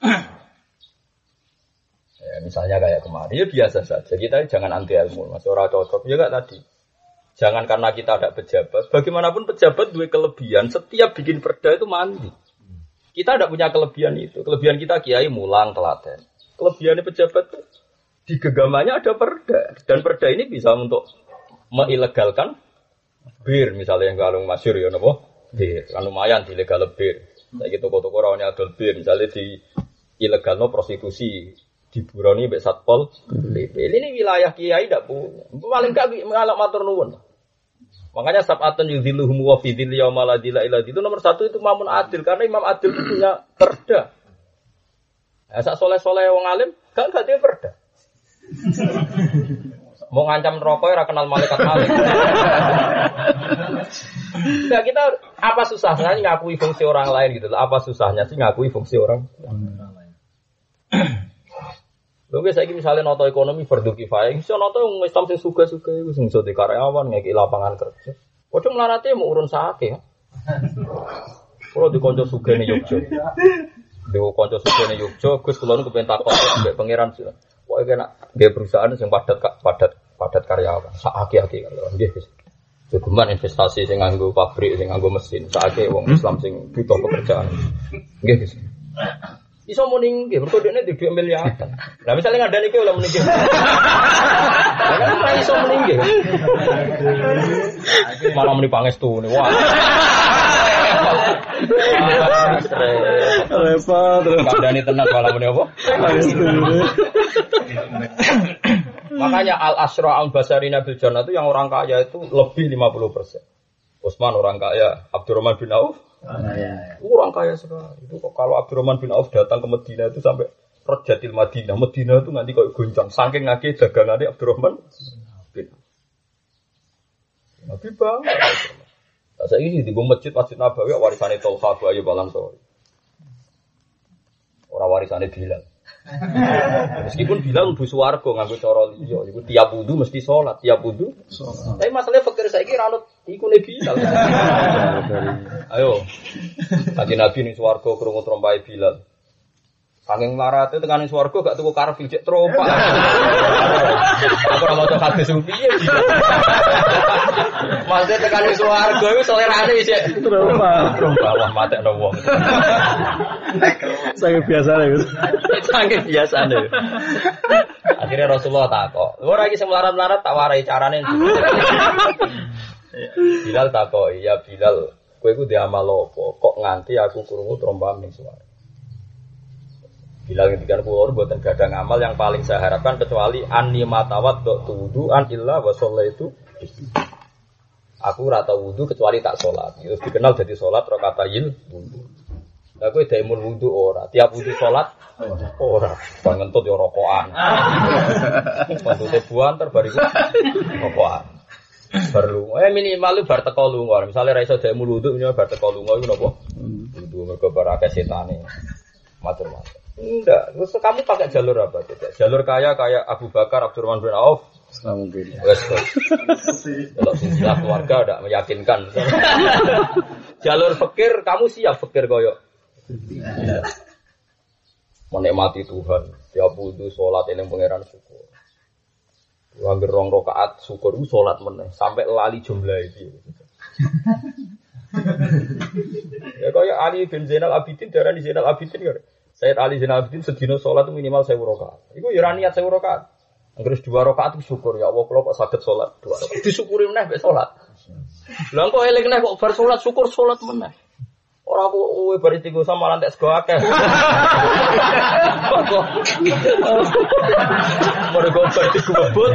S1: Ya misalnya kayak kemarin ya biasa saja. Kita jangan anti ilmu, Mas ora cocok ya enggak tadi. Jangan karena kita ada pejabat. Bagaimanapun pejabat dua kelebihan. Setiap bikin perda itu mandi. Kita tidak punya kelebihan itu. Kelebihan kita kiai mulang telaten. Kelebihan pejabat itu di genggamannya ada perda. Dan perda ini bisa untuk mengilegalkan bir. Misalnya yang kalung masyhur ya napa? Bir. Kan lumayan dilegal bir. Saiki toko-toko rawone adol bir. Misalnya di ilegalno prostitusi. Diburoni mbek Satpol PP. Ini wilayah kiai tidak punya. Paling gak ngalak matur nuwun. Makanya sab'atun yudhilluhum wa fi dhilli yauma la dhilla illa itu nomor 1 itu Imamun Adil karena Imam Adil itu punya perda. Ya sak soleh-soleh wong alim gak dia perda. Mau ngancam rokok ora kenal malaikat malik. Enggak kita apa susahnya ngakui fungsi orang lain gitu. Apa susahnya sih ngakui fungsi orang lain. Lho saiki misale nata ekonomi fardhu kifayah, iso nata wong Islam sing suga-suga iku sing iso di karyawan ngeki lapangan kerja. Padha mlarate mau urun sake. Kulo di kanca sugene Yogya. Dewe kanca sugene Yogya, Gus kula nu kepen takon mbek pangeran. Pokoke kena nggih perusahaan sing padat karyawan. Sakake kan. Nggih Gus. Jogeman investasi sing nganggo pabrik, sing nganggo mesin. Sakake wong Islam sing butuh pekerjaan. Nggih Gus. Iso muni nggih, mergo dekne duwe miliaran. Lah misale ngandani iki oleh muni nggih. Lah ora iso muni nggih. Malah muni pangestune. Wah.
S2: Repot.
S1: Ngandani tenan malah muni apa? Pangestune. Makanya al-asra al-basarina bil jannah itu yang orang kaya itu lebih 50%. Utsman orang kaya, Abdurrahman bin Auf Kurang kaya sekali. Itu kok kalau Abdurrahman bin Auf datang ke Madinah itu sampai Rajatil Madinah. Madinah itu nanti kayak goncang. Saking ngake dagangannya Abdurrahman bin Auf. Nabi bangga. Saya ini di masjid Nabawi warisannya Tolha Abu Ayyub Al-Ansari. Orang warisannya Bilal. Meskipun Bilal mlebu swarga nganggo cara liya, iku tiap wudu mesti salat, tiap wudu. Tapi masalahnya fakir saiki ra ono ikune Bilal. Ayo. Kanjeng Nabi ning swarga krungu trompahe Bilal. Saking larate tekan ning swarga gak tuku karpet cek trompak. Aku ora maca hadis piye. Maksudnya tekan ning swarga iku selerane cek trompak. Wah matekno wong.
S2: Sangat biasa ya.
S1: Sangat biasa deh. Akhirnya Rasulullah takok. Ora iki sing melarat-melarat tak warai carane. Bilal takok, "Ya Bilal, kowe iku di amal apa? Kok nganti aku krungu trompam ning suara?" Bilal ngendikan kula mboten gadah ngamal yang paling saya harapkan kecuali anni matawat wudu'an illa wa shallaitu. Aku ora tau wudu kecuali tak salat. Itu dikenal jadi salat rakaatayil wudu. Lah kowe daimul wudu ora, tiap wudu salat ora. Bang ngentut yo rokokan. Maksudnya buan terbariku rokokan. Perlu minimal lu bar teko lunga. Misale ra iso daimul wudu minimal bar teko lunga iku napa? Wudu mergo bar akeh setane. Macam-macam. Enggak, terus kamu pakai jalur apa? Jalur kaya kayak Abu Bakar, Abdurrahman bin Auf.
S2: Mungkin.
S1: Kalau silsilah keluarga tidak meyakinkan. Jalur fakir, kamu siap fakir koyo. Menikmati Tuhan, tiap wudu sholat eling pangeran syukur. Angger rong rakaat syukur itu sholat meneh sampai lali jumlah iki. Ya kaya Ali bin Zainal Abidin darani Zainal Abidin kan. Sayyid Ali Zainal Abidin sedina sholat itu minimal 1000 rakaat. Iku ya ora niat 1000 rakaat. Angger 2 rakaat itu syukur ya Allah kula kok saged sholat 2 rakaat. Disyukuri meneh mek sholat. Lah kok eling neh kok bar sholat syukur sholat meneh. Ora kok kowe bar istighosah malah entek sego akeh. Mergo bar dikubut.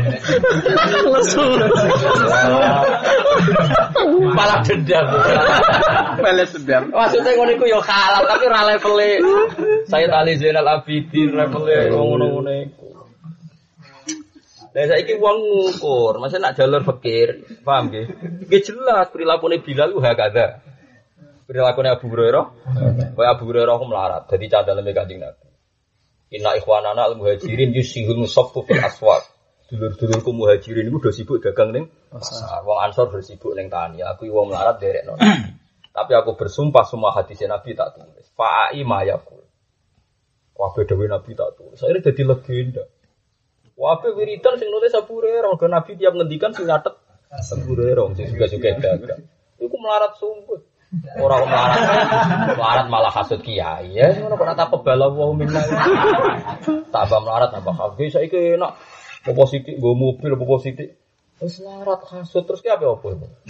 S1: Malah dendam.
S2: Balas dendam.
S1: Maksudnya ngono iku ya halal tapi ora levele. Sayyid Ali Zainal Abidin levele ngono-ngono iku. Lah saiki wong ngukur, maksudnya nak jalur fakir, paham nggih? Nggih jelas prilakune Bilal ku hakada. Prilakune Abu Hurairah, kaya Abu Hurairah ku melarat, dadi cadaleme Kanjeng Nabi. Inna ikhwanana al-muhajirin yusihul musaffu fil aswaq. Dulur-dulurku muhajirin iku do sibuk dagang ning pasar. Wong Ansor bersibuk ning tani, aku wong melarat derekno. Tapi aku bersumpah semua hadis Nabi tak tulis. Fa'i mayakul. Kabeh dawuh Nabi tak tulis. Akhire dadi legenda. Wabe wiridan sing nulis Abu Hurairah, ke Nabi tiap ngendikan sing nyatet Abu Hurairah sing juga-juga dagang. Iku melarat sungguh. Orang melarat malah hasud kiai ya ngono kok tak pebala wa minna. Tambah melarat tambah kabeh saiki enak. Apa sithik nggo mobil apa sithik. Wis melarat hasud terus ki apa?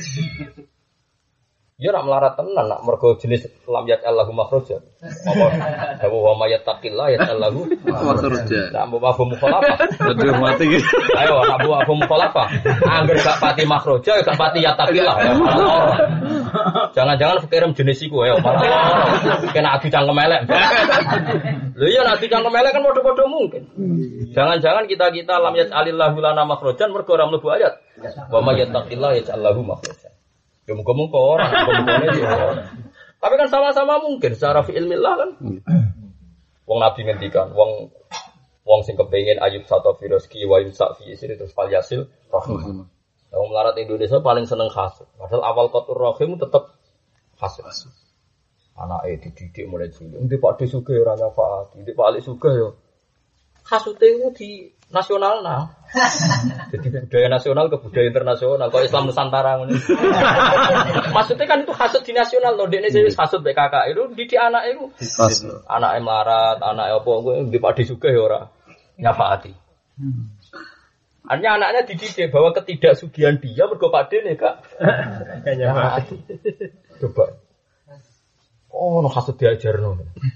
S1: Ya nak melarat tenan nak mergo jenis lam yat Allahu makhraja. Apa wa may yattaqillah yat Allahu makhraja. Nak mbok mukhalafah.
S2: Aduh mati iki.
S1: Ayo nak mbok mukhalafah. Angger gak pati makhraja gak pati yattaqillah ya malah. Jangan-jangan fikirem jenis iku ya malah. Kena adu cangkem elek. Lho iya nek adu cangkem elek kan padha-padha mungkin. Jangan-jangan kita lam yat alillahu lana makhrajan mergo ora mlebu ayat. Wa may yattaqillah yat Allahu makhraja. Ya muka-muka orang, tapi kan sama-sama mungkin secara fi'ilmillah kan. Wong Nabi ngendikan, wong sing kepengin ayub satu firoski wa yumsak fi isri terus fal yasil rahimah. Wong melarat Indonesia paling seneng hasud. Padahal awal qatur rahim tetep hasud. Anake dididik mulai cilik. Ndi Pak De sugih ora nyafaati, ndi Pak Ali sugih ya. Hasude itu di nasional nah. Jadi budaya nasional ke budaya internasional. Kalau Islam Nusantara ini. Maksudnya kan itu hasud di nasional loh. Dekne wis hasud PKK itu di anak itu. Anake melarat, anake apa di Pak De sugih ya ora nyafaati. Artinya anaknya dididik bahwa ketidaksugihan dia mergo Pak De nih Kak. Nyafaati. Coba. Oh, no hasud diajarno.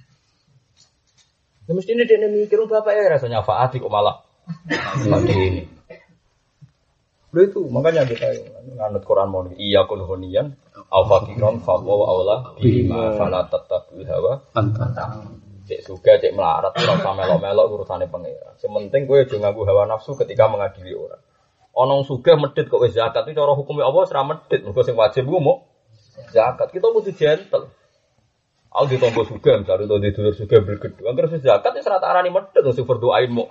S1: Ya mesti ini dia mikir bapak ya rasanya faati kok malah seperti ini. Lalu itu makanya kita nganut Quran mau iya kulhonian Au fakiron fa wa aula bima fala tattabi'ul hawa
S2: Anta.
S1: cek suga cek melarat ora usah melok-melok urusane pangeran. Sementing kowe aja nganggo hawa nafsu ketika mengadili orang. Ana sugih medhit kok wis zakat iki cara hukume Allah ora medhit, mergo sing wajib ku mok zakat. Kita kudu gentle. Aku ditompo sugih, misalnya untuk dulur sugih bergedhe. Angger wis zakat wis ora tak arani medhit sing berdoain mok.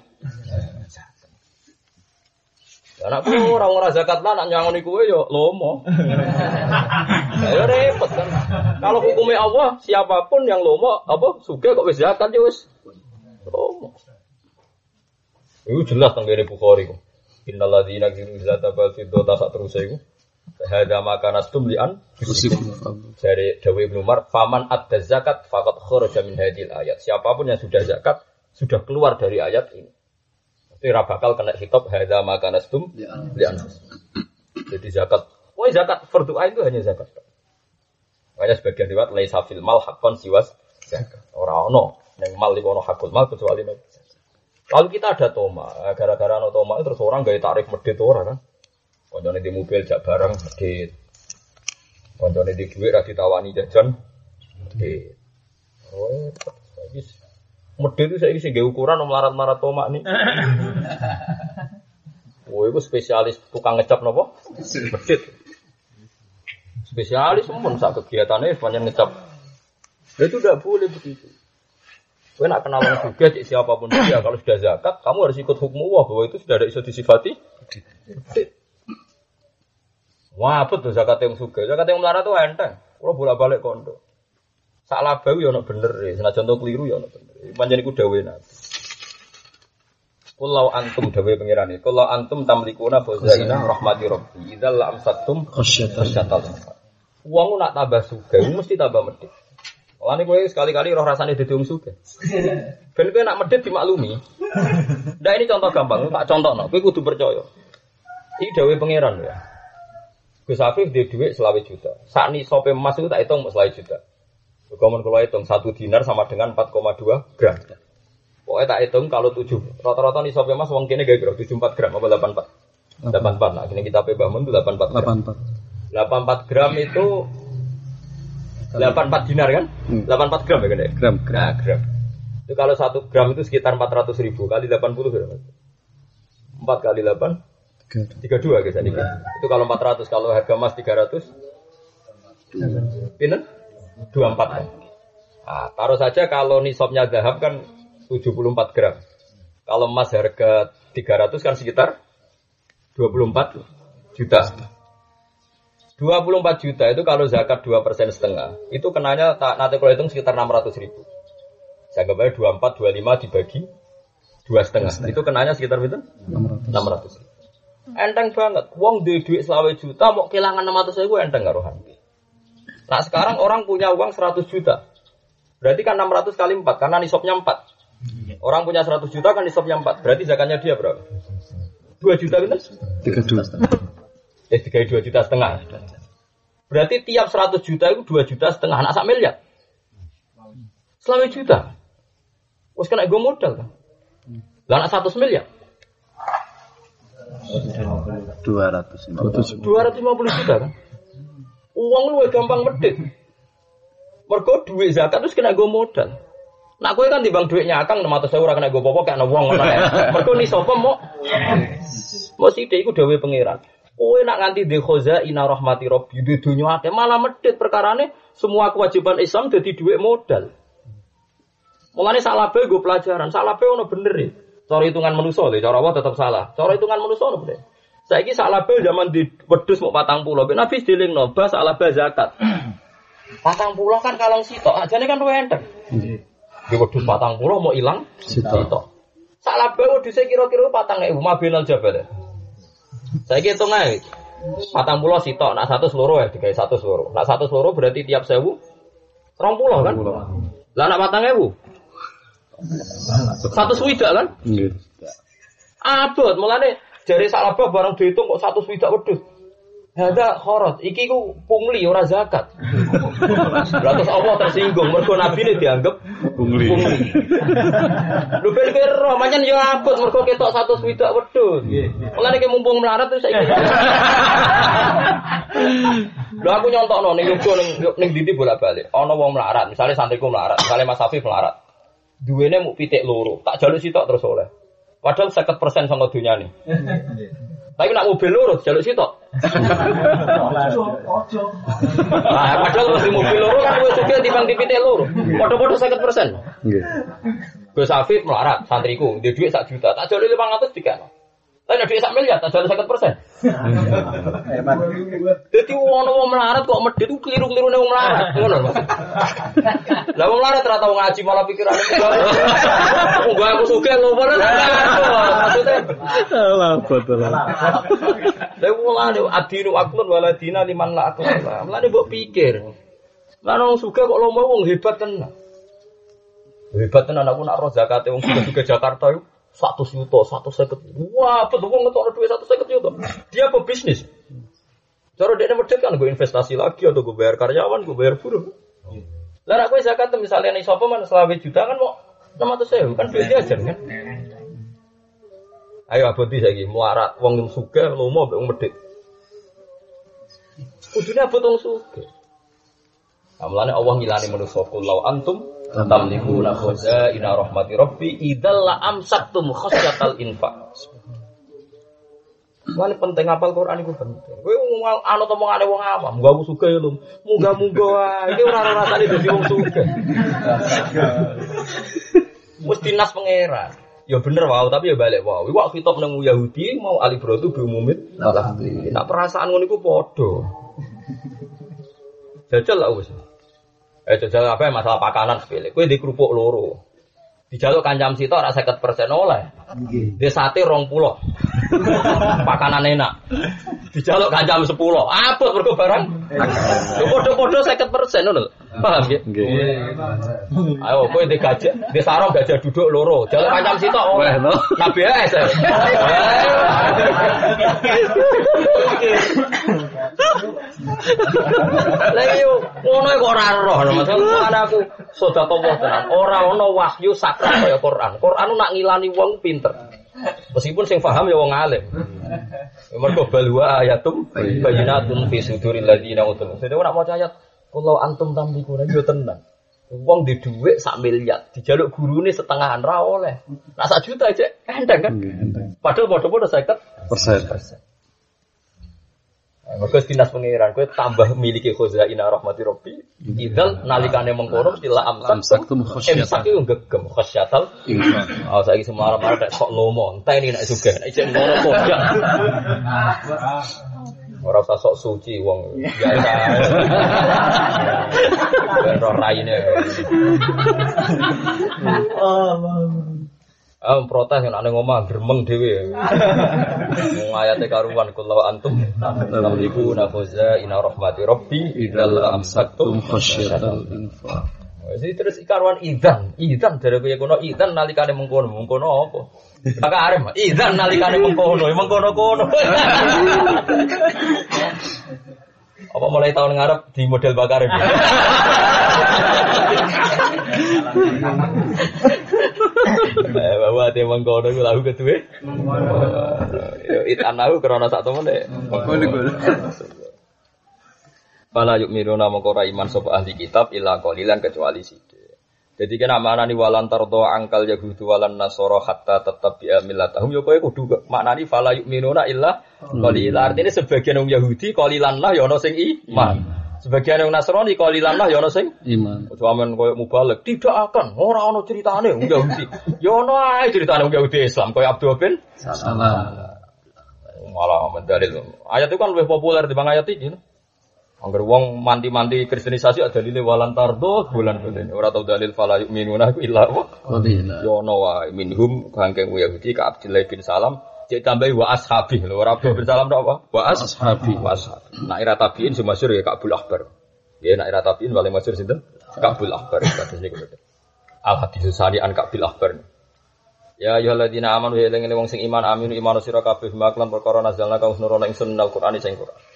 S1: Anakku ora zakat lah nak nyangoni kowe yo lomo. Ya repot kan. Kalau hukumnya Allah, siapapun yang lomo apa sugih kok wis zakat ya wis lomo. Itu jelas teng ngene Bukhari kok. Innal ladzina yakzinu zakata wal fiddata sak terus iku. Hadza maka nastum li'an dari Dawi Ibnu Umar, faman adda zakat faqad kharaja min hadhil ayat. Siapapun yang sudah zakat sudah keluar dari ayat ini. Ora bakal kena hitop hadza maka nastum li'an. Jadi zakat, zakat fardhu ain itu hanya zakat. Makanya sebagian riwayat laisa fil mal haqqan siwas zakat. Ora ono ning mal iku ono hakul mal kecuali nek. Lalu kita ada toma, gara-gara ono toma terus orang gawe tarif medhit ora kan. Koncone di mobil jak barang medhit. Koncone di dhuwit ra ditawani jajan medhit. Oh, wis medhit itu saiki sing gawe ukuran melarat-marat toma nih. Oh, itu spesialis tukang ngecap napa? Medhit. Spesialis pun sak kegiatannya sepanjang ngecap. Itu tidak boleh begitu. Kowe nak kenal wong sugih cek siapapun dia kalau sudah zakat, kamu harus ikut hukum Allah bahwa itu sudah ada iso disifati. Wah, apa tuh zakat yang sugih? Zakat yang melarat itu enteng. Kalau bolak-balik kondo. Salah bau ya ono bener e, senajan to keliru ya ono bener. Pancen iku dawuhe Nabi. Kullau antum dawuhe pangeran iki, kullau antum tamlikuna fazaina rahmati rabbi. Idzal amsatum khasyatal. Wong nak tambah sugih mesti tambah medhit. Mulane kowe sekali-kali roh rasane dadi wong sugih. Ben kowe nak medhit dimaklumi. Ndak ini contoh gampang, tak contohno. Kowe kudu percaya. Iki dawuhe pangeran ya. Gus Afif dia duit 20 juta. Saat ini sope emas itu tak hitung 20 juta. Kalau hitung 1 dinar sama dengan 4,2 gram. Pokoknya tak hitung kalau 7 rata-rata nih sope emas wong kene gak 74 gram apa 84. 84. Nah, kini kita bangun itu 84 gram. 84 gram itu 84 dinar kan? 84 gram ya kan?
S2: Gram.
S1: Nah, gram. Itu kalau 1 gram itu sekitar 400.000 kali 80 berapa? 4 kali 8 32 guys ini. Itu kalau 400, kalau harga emas 300 pinten? 24 kan. Nah, taruh saja kalau nisabnya zahab kan 74 gram. Kalau emas harga 300 kan sekitar 24 juta. 24 juta itu kalau zakat 2% setengah, itu kenanya nanti kalau hitung sekitar 600.000. Saya gambarnya 24, 25 dibagi 2,5. Itu kenanya sekitar berapa? 600. Enteng banget. Wong duit 20 juta mau kehilangan 600.000 enteng karuhan. Nah sekarang orang punya uang 100 juta. Berarti kan 600 kali 4 karena nisabnya 4. Orang punya 100 juta kan nisabnya 4. Berarti zakatnya dia berapa? 2 juta benar?
S2: 32.
S1: 2 juta setengah. Berarti tiap 100 juta itu 2 juta setengah. Anak sak miliar. 20 juta. Wes kena gue modal kan. Lah anak 100 miliar. 250 juta kan. Uang lu gampang medhit. Mergo duit zakat terus kena go modal. Nak kowe kan timbang duitnya akang 600.000 ora kena go apa-apa kena wong ngono ae. Mergo nisab mau sithik iku dawuhe pangeran. Kowe nak nganti de khazaina rahmati rabbi di dunya akeh malah medhit perkarane semua kewajiban Islam dadi duit modal. Mulane salah bae go pelajaran, salah bae ono bener e. Cara hitungan manusia lho, cara Allah tetap salah. Cara hitungan manusia lho bener. Saiki salah bae zaman di wedhus mau 40. Nabi dilingno bas salah bae zakat. 40 kan kalong sitok, ajane kan luwih enteng. Di wedhus 40 mau ilang sitok. Salah bae wedhuse kira-kira 4.000 mabinal jabal. Saiki hitung ae. 40 sitok, nak 100 loro ya digawe 100 loro. Nak 100 loro berarti tiap 1000 20 kan? Lah nak 4.000 100 swidak kan? Nggih. Abot, mulane jare salabah barang diitung kok 100 swidak wedhus. Hada khorot, iki ku pungli ora zakat. Terus Allah tersinggung mergo nabi ini dianggap
S2: Pungli.
S1: Lho ben kira pancen yo abot mergo ketok 100 widak wedhus. Mulane ki mumpung melarat terus saiki. Lho aku nyontokno ning yoga ning ndi bolak-balik. Ana wong melarat, misale santriku melarat, misale Mas Afif melarat. Duwene muk pitik loro, tak jaluk sitok terus oleh. Padahal 50% saka dunyane. Tapi nak mobil loro jaluk sitok. Nah, padahal mesti mobil loro kan luwih sugih timbang pitik loro. Padha-padha 50%.
S2: Nggih.
S1: Gus Afif melarat santriku, dia duit 1 juta, tak jaluk 500 dikano. Tapi nek dhuwit 1 miliar tak jaluk 50%. Dadi wong melarat kok medhit ku kliru-klirune wong melarat, ngono Mas. Lah wong melarat ora tau ngaji malah pikirane enggak aku sugih lho maksudnya.
S2: Salah betul.
S1: Lah wong ade adinu aklun waladina liman la akal. Mulane mbok pikir. Lah wong sugih kok lomo wong hebat tenan. Hebat tenan aku nak roh zakate wong sugih Jakarta yo 100 juta, 150. Wah, betul wong ngetokno duit 150 juta. Dia pebisnis. Cara dekne medhit kan gue investasi lagi atau gue bayar karyawan, gue bayar buruh. Lah nek kowe zakat misalnya ning sapa men 20 juta kan mau 600.000 kan duit jajan kan. Ayo aboti saiki melarat wong sugih lomo mbek wong medhit. Kudune abot wong sugih. Amlane Allah ngilani manusa kullau antum tamlikuna khazaina rahmati rabbi idzal la amsaktum khasyatal infaq. Mane penting apal Quran iku penting. Kowe ana omongane wong awam, muga aku sugih lho. Muga-muga wae iki ora rasane dadi wong sugih. Mesti nas pangeran. Ya bener wae, tapi ya balik wae. Iku kitab nang Yahudi mau alibratu bi umumit. Nah perasaan ngono iku padha. Jajal lah wis. Jajal apa masalah pakanan sepele. Kowe di kerupuk loro. Dijaluk kancam sitok ora 50% oleh. Nggih. Di sate 20. Pakanan enak. Dijaluk kancam 10. Abot mergo barang. Yo padha-padha 50% ngono lho. Paham nggih? Nggih. Ayo kowe di gajah, di sarung gajah duduk loro. Jaluk kancam sitok oleh. Nabi es. Lah yo ngono kok ora roh, maksudku aku sedekah tenan. Ora ana wahyu sakral kaya Quran. Quran nak ngilani wong pinter. Meskipun sing paham ya wong alim. Mergo balwa ayatum bayyinatun fi suduril ladina utul. Dadi ora maca ayat kalau antum tamlikuna yo tenan. Wong di dhuwit 1 miliar, dijaluk gurune setengahan ra oleh. Nak 1 juta aja endang kan? Padahal padha-padha 50%. Mergo dinas pangeran kowe tambah miliki khazaina rahmati rabbi idzal nalikane mengkono sila amsaktum khasyatal gegem khasyatal infaq. Saiki semar-mar tek sok lomo enteni nek sugih nek isih ngono kodhak. Ora usah sok suci wong biasa. Ora raine. Protes nek nang omah gremeng dhewe. Wong ayate karuan kullu antum tamliku nafaza ina rahmati rabbi idzal amsaktum khasyatal infaq. Wis terus karuan idzan dari kowe kono idzan nalikane mengkono apa? Maka arep idzan nalikane mengkono Apa mulai tahun ngarep di model bakarim. Bahwa ate mengkono iku lagu keduwe. Yo itanahu krana sak temene. Fala yu'minuna mongko ora iman sapa ahli kitab illa qalilan kecuali sithik. Jadi kena maknani walan tardo angkal yahudu walan nasara hatta tetap bi millatahum yo kowe kudu maknani fala yu'minuna illa qalilan. Artine sebagian wong Yahudi qalilan lah ya ana sing iman. Sebagian wong Nasrani qalilan lah ya ana sing iman. Ojo amen koyo mubalek tidak akan ora ana ceritane wong Yahudi. Ya ana ae ceritane wong Yahudi Islam koyo Abdul bin Salam. Malah mendalil. Ayat itu kan lebih populer dibanding ayat iki. Angger wong manti-manti kristenisasi ada dalile walan tardo bulan-bulan. Ora tau dalil fala yu'minuna illa qalila. Yo ono wae minhum kangkeng Yahudi ka Abdullah bin Salam cek tambahi wa ashabi lho ora Abdullah bin Salam tok apa? Wa ashabi. Nak ira tabiin sumasyur ya Ka'bul Ahbar. Ya nak ira tabiin paling masyhur sinten? Ka'bul Ahbar kados niku. Al hadis sari an Ka'bul Ahbar. Ya ayyuhalladzina amanu ya eling wong sing iman aminu imanu sira kabeh maklan perkara nazalna kaus nurono ingsun Al-Qur'an sing Qur'an.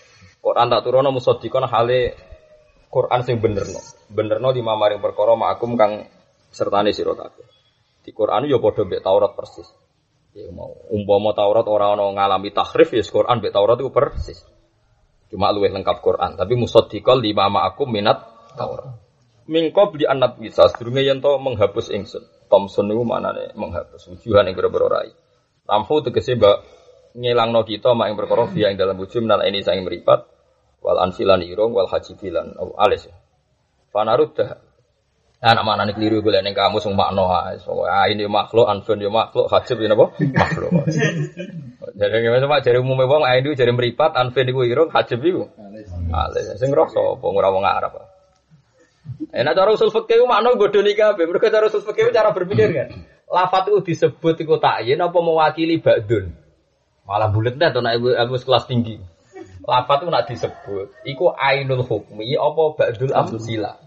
S1: Quran tak turono musaddiqan hale Quran sing benerno. Benerno lima maring perkara makum kang sertane sira kabeh. Di Quran yo padha mbek Taurat persis. Ya mau umpama Taurat ora ana ngalami tahrif ya Quran mbek Taurat iku persis. Cuma luwih lengkap Quran, tapi musaddiqal lima ma'akum minat Taurat. Min qabli an nabisa sedurunge yen to menghapus ingsun. Thompson niku manane menghapus wujuhan ing boro-boro rai. Tamhu tegese mbak ngilangno kita mak ing perkara fiya ing dalam wujud menal ini saing meripat wal anfilan irung wal hajibilan alis. Fanaruddah. Anak manane keliru golek ning kamus wong makna ae. Ini makhluk, anfun yo makhluk, hajib yo napa? Makhluk. Jadi ngemes jare umume wong ae jare meripat, anfun iku irung, hajib iku alis. Sing rasa apa ora wong Arab. Enak cara usul fikih makna bodoni kabeh. Mergo cara usul fikih cara berpikir kan. Lafat itu disebut iku takyin apa mewakili ba'dun. Malah bulet dah to nek ilmu kelas tinggi. Lafat itu nak disebut iku ainul hukmi apa ba'dul amsila.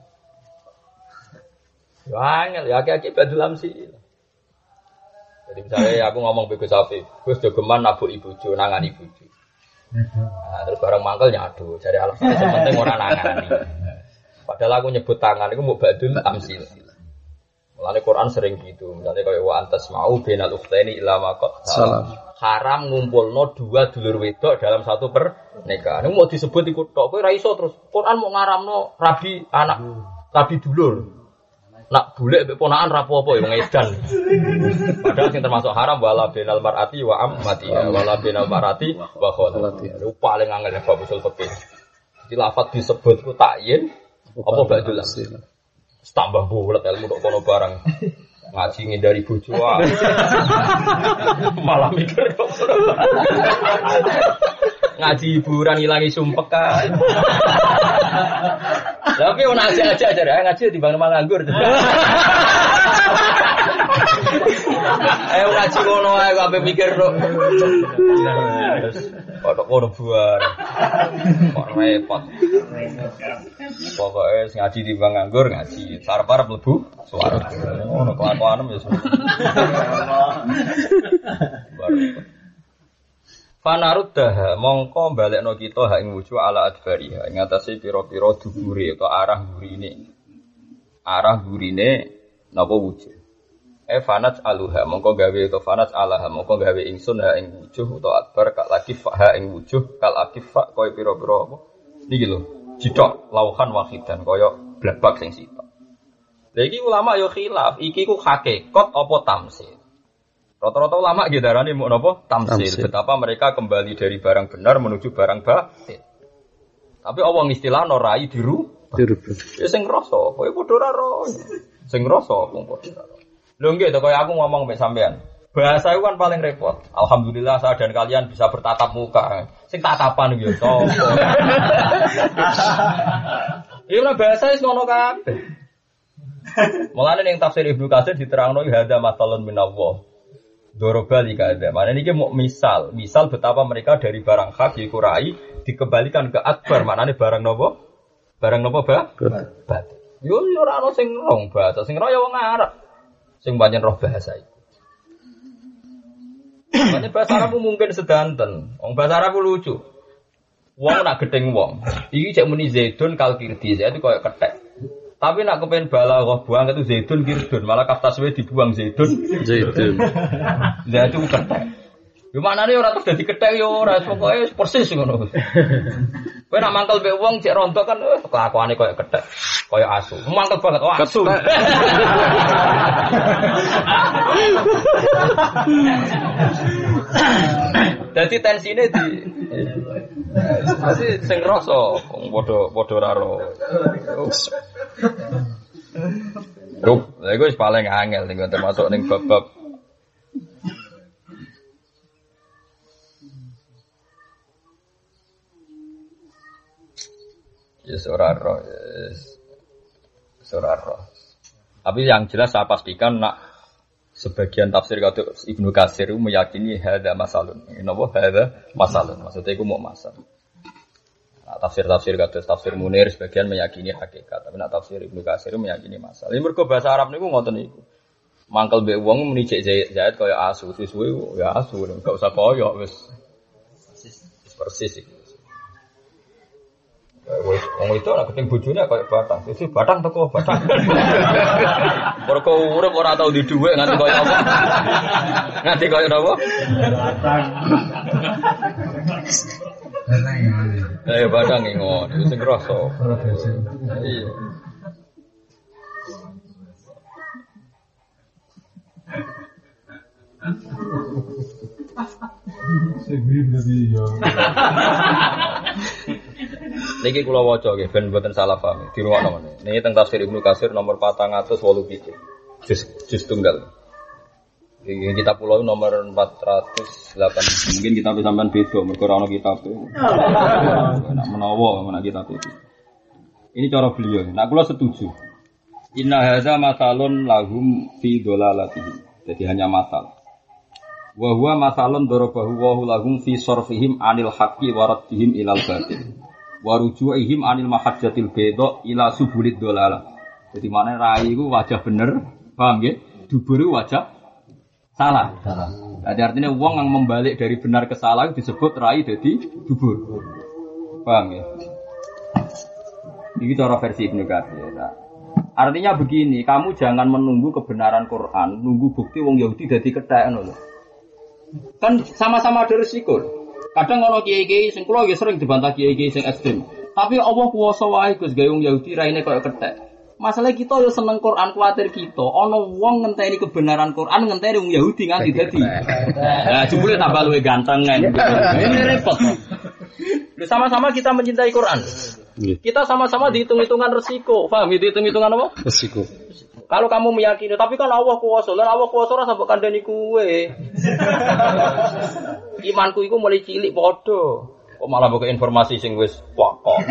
S1: Angel ya aki-aki ba'dul amsila. Jadi misalnya aku ngomong be Gus Afif, Gus jogeman nabuk ibujo nangani ibujo. Nah, terus barang mangkel nyadu, jadi alasan penting ora nangani. Padahal aku nyebut tangan itu mau ba'dul amsil. Mulane Quran sering gitu. Misalnya kayak wa antas mau bainal ukhtaini illa ma qad salam. Haram ngumpulno dua dulur wedok dalam satu pernikahan. Ini mau disebut iku tok kowe ra iso terus. Quran mau ngaramno rabi anak, rabi dulur. Nak bulek mbek ponakan ra apa-apa ya wong edan. Padahal sing termasuk haram wala bainal mar'ati wa ammati wala bainal mar'ati wa khalati. Itu paling angel bab usul fikih. Di lafaz disebut ku takyin apa ba'dul amsil. Tambah bulet ilmu tok kono barang. Ngaji ngindari bojo malah mikir kok. Ngaji hiburan ilangi sumpek kan. Tapi ono aja ngaji timbang nganggur. Ayo ngaji ngono ae kok ape mikir kok. Kok ngono buar. Kok repot. Pokoke ngaji timbang nganggur ngaji. Sarep-arep mlebu swarga. Ngono kelakuanem ya. Fanaruddah mongko balekno kita hak ing wujuh ala adbariha ing atase pira-pira dubure utawa arah gurine. Arah gurine napa wujuh. Fanat aluha mongko gawe utawa fanat alaha mongko gawe ingsun hak ing wujuh utawa adbar kak lagi hak ing wujuh kal akifah kaya pira-pira apa. Niki lho, jithok lauhan wahidan kaya blabak sing sitok. Lha iki ulama yo khilaf, iki ku hakikat apa tamsil. Rata-rata ulama nggih darani muk napa? Tamsil. Betapa mereka kembali dari barang benar menuju barang batil. Tapi Allah ngistilahno rai dirubah. Ya sing ngrasa, kowe padha ora ro. Sing ngrasa wong padha ora. Lho nggih to kaya aku ngomong mek sampean. Bahasa itu kan paling repot. Alhamdulillah saya dan kalian bisa bertatap muka. Sing tatapan yo sapa. Iya bahasa wis ngono kabeh. Mulane ning tafsir Ibnu Katsir diterangno hadza matalun minallah. Dorobali kada. Mana ini mau misal betapa mereka dari barang hak dikurai dikembalikan ke akbar. Mana ini barang nopo? Barang nopo bah? Yo ora ono sing rong bahasa, sing roh ya wong Arab. Sing pancen roh bahasa iki. Makanya bahasa Arab mungkin sedanten. Wong bahasa Arab lucu. Wong nak gedeng wong. Iki cek muni Zaidun kalkirdi, saya itu koyo kethek. Tapi nak kepen balaghah buang itu zaitun kirdun, malah kaftaswe dibuang zaitun. Lah itu kethek. Yo maknane ora terus dadi kethek yo ora pokoke persis ngono. Kowe nak mangkel mbek wong cek rontok kan kelakuane koyo kethek, koyo asu. Mangkel banget asu. Dadi tensine di masih sing rasa padha ora ro. Lha iku wis paling angel ning termasuk ning bab-bab yes ora ro. Tapi yang jelas saya pastikan nak sebagian tafsir kata Ibnu Katsir meyakini hadza masalun. Napa hadza masalun? Maksudnya iku mau masal. Nah, tafsir kata tafsir Munir sebagian meyakini hakikat, tapi nak tafsir Ibnu Katsir meyakini masal. Ini mergo bahasa Arab niku ngoten niku. Mangkel mbek wong muni cek Zaid kaya asu, suwe ya asu, enggak usah koyo wis persis iki. Wong itu nek keting bojone kaya batang. Sisi batang teko batang. Mergo urip ora tau di dhuwit nganti kaya apa. Nganti kaya napa? Batang iki ngono, sing krasa. Iya. Niki kula waca nggih ben mboten salah paham. Dirungokno meneh. Niki teng tafsir Ibnu Katsir nomor 487. Juz tunggal. Iki kitab kula nomor 408. Mungkin kitab sampean beda mergo ora ono kitab. Nek menawa menak kitab iki. Ini cara beliau. Nah kula setuju. Inna hadza masalun lahum fi dolalatihim. Jadi hanya masal. Wa huwa masalun darabahu wa lahum fi sarfihim anil haqqi wa raddihim ilal batil. Wa ruju'ihim anil mahajjatil bayda ila subulid dolalah. Jadi mana rai iku wajah bener, paham nggih? Dubur wajah salah. Jadi artinya wong yang membalik dari benar ke salah disebut rai dadi dubur. Paham ya? Ini cara versi Ibnu Katsir. Artinya begini, kamu jangan menunggu kebenaran Quran, nunggu bukti wong Yahudi dadi kethek ngono lho. Kan sama-sama ada resiko. Kadang ono kiai-kiai sing kula nggih sering dibantah kiai-kiai sing ekstrem. Tapi Allah kuwasa wae Gus gawe wong Yahudi raine koyo kethek. Masalah kita yo seneng Quran, kuwatir kita ono wong ngenteni kebenaran Quran, ngenteni wong Yahudi nganti dadi. Nah, jebule tambah luwih ganteng kan. Ini repot. Sama-sama kita mencintai Quran. Kita sama-sama dihitung-hitungan resiko. Paham dihitung-hitungan apa?
S2: Resiko.
S1: Kalau kamu meyakini, tapi kan Allah kuwasa. Lah Allah kuwasa ora sampe kandhani kuwe. Imanku iku mulai cilik padha. Kok malah buka informasi sing wis pokok.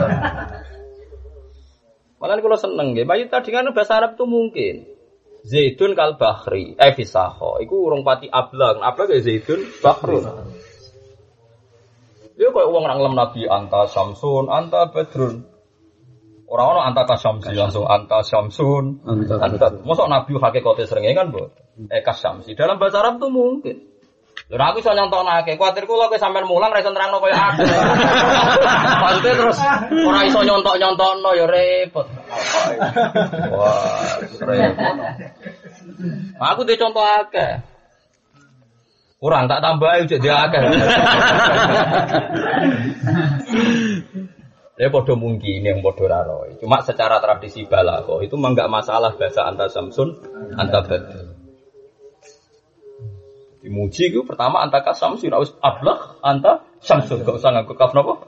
S1: Malah kula seneng nggih. Bayi tadi kan bahasa Arab itu mungkin. Zaidun kal bahri, fisaho. Iku urung pati ablang. Ablang ya Zaidun bahrun. Dia kayak uang orang lem Nabi anta Samsun, anta Badrun. Orang-orang anta Kasyamsi langsung anta Samsun, anta. Mosok Nabi hakikate seringe kan, Bu? Kasyamsi. Dalam bahasa Arab tuh mungkin. Lha aku iso nyontokake, kuwatirku lho kowe sampean mulang ra iso nerangno koyo aku. Maksudnya terus ora iso nyontok-nyontokno ya repot. Wah, repot. Aku dhe contoh akeh. Kurang tak tambahi jadi akeh. Ya padha mungkin yang padha ra roe. Cuma secara tradisi balaghah itu mah enggak masalah bahasa anta Samsun, anta Badr. Dimuji itu pertama anta Kasamsi, ra wis ablagh anta Samsun, enggak usah nganggo kaf napa?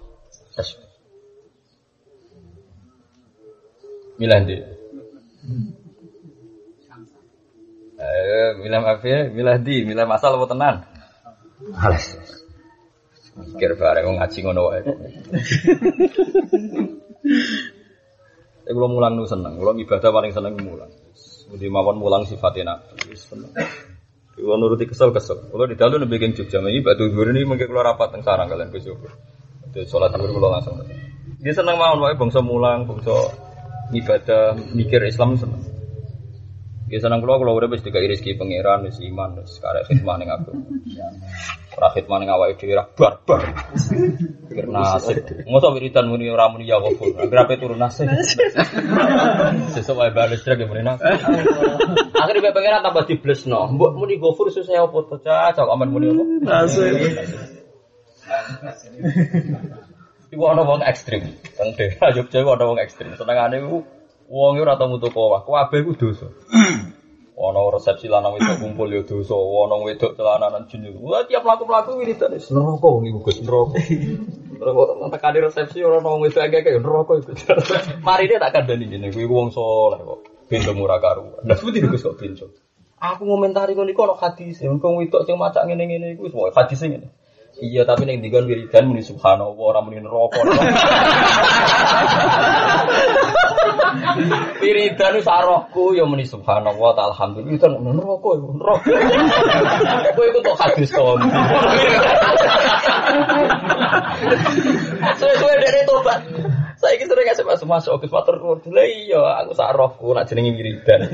S1: Milah ndi? Milah apa? Milah di, milah masal apa tenan? Alas. Mikir bareng wong ngaji ngono wae. Kalau mulang nu seneng, kalau ibadah paling seneng mulang. Mesti mawon mulang sifatnya Nabi. Seneng. Kalau nuruti kesel-kesel. Kalau di dalu nembe geng Jogja iki batu dhuwur ini mengke kula rapat teng sarang kalian besok. Dadi salat dhuwur kula langsung. Dia seneng mawon wae bangsa mulang, bangsa ibadah, mikir Islam seneng. Dia seneng kula urip wis dikai rezeki pangeran, wis iman, wis karek khidmah ning aku. Ora khidmah ning awake dhewe ra barbar. Pikir nasib. Mosok wiridan muni ora muni ya kok. Agrape turun nasib. Sesuk wae bales trek muni nasib. Akhire pangeran tambah diblesno. Mbok muni gofur susah apa to, cak aman muni apa? Nasib. Iku ana wong ekstrem. Teng daerah Jogja iku ana wong ekstrem. Senengane iku wong ora tau mutu kowah, kabeh iku dosa. Ana resepsi lanang wedok kumpul ya dosa, ana wedok celananan jin. Wah tiap mlaku-mlaku wiridan wis neraka wong iku Gus neraka. Terus tekane resepsi ora ana wong wedok akeh neraka iku. Marine tak kandhani jenenge kuwi wong saleh kok. Bento murah karuan. Lah seperti Gus kok bento. Aku ngomentari kon iku ana hadis, wong wedok sing macak ngene-ngene iku wis hadis ngene. Iya tapi ning dikon wiridan muni subhanallah ora muni neraka. Wiridan sarohku ya muni subhanallah ta alhamdulillah itu neraka iku neraka. Kowe iku tok hadis to. Suwe-suwe dene tobat. Saiki sering kasih masuk ke matur nuwun. Lah iya aku sarohku nak jenenge wiridan.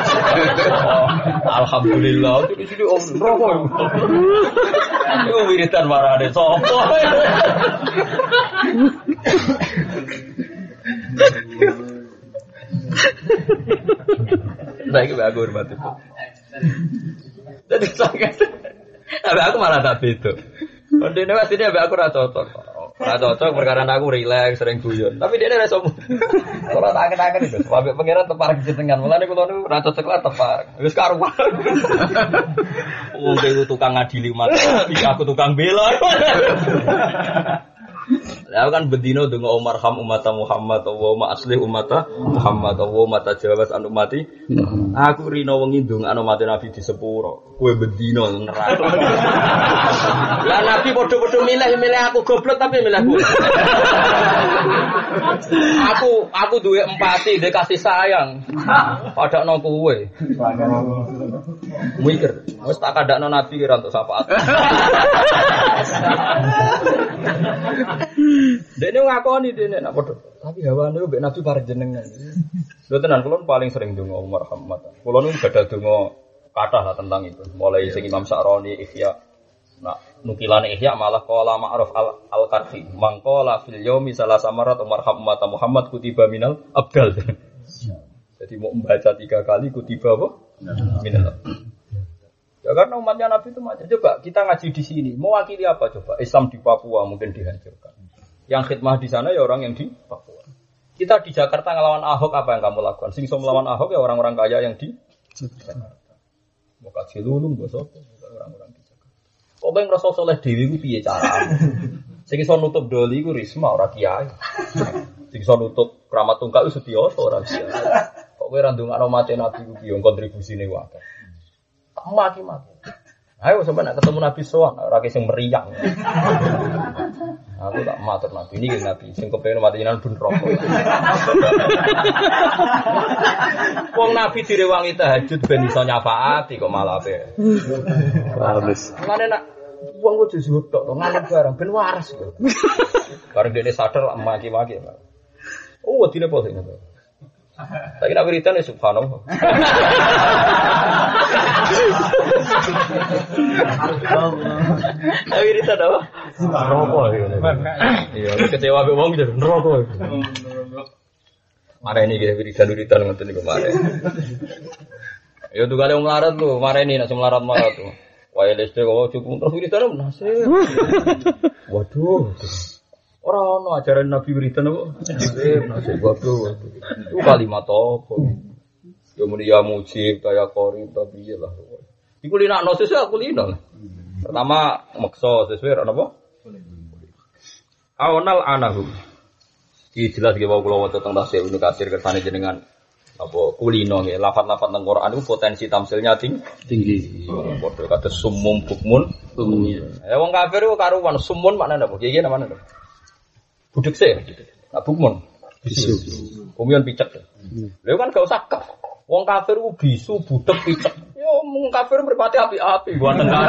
S1: Alhamdulillah itu sini om neraka iku. Iku wiridan marane sapa. Nah, iki aku hormati. Jadi sangat. Tapi aku malah tak beda. Kondene wis ini aku ora cocok. Ora cocok perkara aku rileks sering guyon. Tapi dia ora sombong. Ora tak aken-aken itu. Sampai pangeran tepar jenengan. Mulane kula niku ora cocok lah tepar. Wis karuan. Wong itu tukang ngadili umat. Aku tukang bela. Lah kan bedino donga Umar ham umat Muhammad wa aslih umat Muhammad wa mata jawas an umati. Aku rino wengi ndongakno mate Nabi di sepuro. Kowe bedino neraka. Lah Nabi padha-padha milih aku goblok tapi milih aku duwe empati, duwe kasih sayang. Padakno kowe. Mikir, wis tak kandakno Nabi kira untuk syafaat. Dene ngakoni dene nak padha. Tapi hawane mbek Nabi pareng jenengan. Lho tenan kula paling sering donga Umar Muhammad. Kula nu gadah donga kathah lah tentang itu. Mulai sing Imam Sa'roni Ihya. Nah, nukilane Ihya malah qala Ma'ruf al-Qarfi. Mangqala fil yaumi salasa marat Umar Muhammad kutiba minal abdal. Jadi mau membaca 3 kali kutiba apa? Minal abdal. Ya karena umatnya Nabi itu macam. Coba kita ngaji di sini. Mewakili apa coba? Islam di Papua mungkin dihancurkan. Yang khidmah di sana ya orang yang di Papua. Kita di Jakarta ngelawan Ahok apa yang kamu lakukan? Sing iso melawan Ahok ya orang-orang kaya yang di Jakarta. Mau kaji lulung mbok sapa orang-orang di Jakarta. Kok ben ngrasa saleh dhewe ku piye carane? Sing iso nutup doli ku Risma ora kiai. Sing iso nutup Kramat Tungkak ku Setiyoso ora kiai. Kok kowe ra ndongakno mate Nabi ku piye kontribusine wae. Maki-maki. Ayo sampeyan nak ketemu Nabi sowan ora sing meriang. Aku tak matur Nabi ini kan Nabi sing kepengin mati jenengan ben rokok. Wong Nabi direwangi tahajud ben iso nyafaati kok malah ape.
S2: Halus.
S1: Mane nak wong kudu zuhud tok ngalem barang ben waras kok. Bareng dene sadar maki-maki. Oh, wedine apa sing ngono. Tapi nak wiridan ya subhanallah. Nak wiridan apa? Rokok gitu. Iya, kecewa be wong jadi rokok. Mare ini gitu wiridan ngoten niku mare. Ya tuh kali wong larat lho, mare ini nak semlarat-marat tuh. Wae leste kok cukup terus wiridan nasib. Waduh. Ora ono ajaran Nabi wiridan apa? Nasib waduh. Itu kalimat apa? Ya muni ya mujib kaya qarib tapi ya lah. Iku linakno sesuk aku lino. Pertama maksa sesuai napa? Awnal anahu. Iki jelas ge wae kula waca teng tafsir Ibnu Katsir kersane jenengan apa kulino nggih lafaz-lafaz teng Quran itu potensi tamsilnya tinggi. Padha kados sumum bukmun umum. Wong kafir ku karuan sumun maknane apa? Iki namane apa? Budek sih, nak bukmun, bisu, kumian picek. Lalu kan gak usah kaf. Wong kafir u bisu, budek, picek. Yo, wong kafir berpati api-api, gua tengah.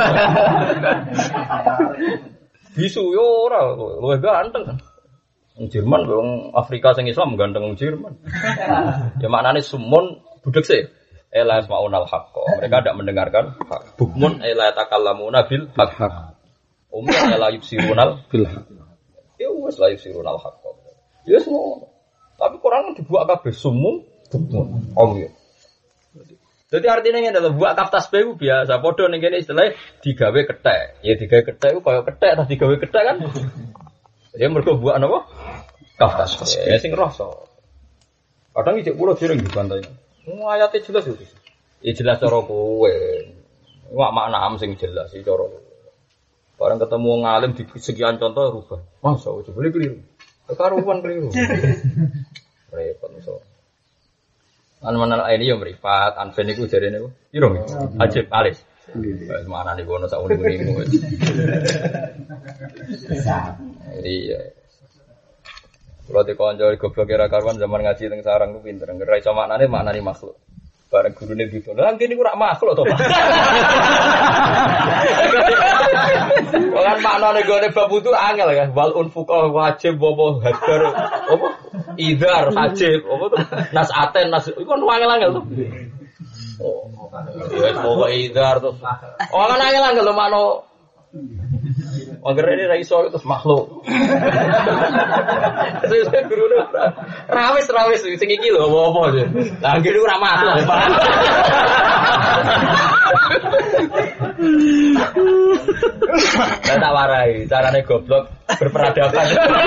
S1: Bisu yo ora, lu ganteng kan. Wong Jerman, wong Afrika sing Islam ganteng wong Jerman. Ya maknane sumun, budek sih. Ela asmaunal haqq. Mereka tidak mendengarkan hak. Bukmun ela takallamuna bil haqq. Umum ela yubsirunal bil haqq. Ya wis la yusirun al-haqq. Ya semua. Tapi Quran dibuat kabeh sumum bukmun. Ya. Jadi artinya ngene lho, buat kaftas bae biasa. Padha ning kene istilah digawe kethek. Ya digawe kethek ku kaya kethek ta digawe kethek kan. Ya mergo buat napa? Kaftas. Ya sing rasa. Kadang iki kula dereng dibantai. Ayate jelas itu. Ya jelas cara kowe. Wak makna am sing jelas iki cara. Barang ketemu ngalim di sekian contoh rubah. Masa coba boleh keliru. Kekaruan keliru. Repot so. An-manal ini yang meripat, anfen iku jarene iku. Piro? Ajib alis. Wis manane kono sak uni-unimu. Iya. Kalau dikonco goblok kira karuan zaman ngaji teng sarang ku pinter. Ora iso maknane makhluk. Bareng gurune gitu. Lah kene iku ora makhluk to, Pak. Kan maknane gone bab itu angel kan. Wal unfuqa wajib apa hadar apa idhar wajib apa to. Nasaten nas iku kan angel-angel to. Oh. Ya pokoke idhar to. Oh kan angel-angel to makno Mager ini ra iso terus makhluk. Terus gurune rawis sing iki lho apa-apa. Lah ngene ora makhluk. Lah tak warai, carane goblok berperadaban.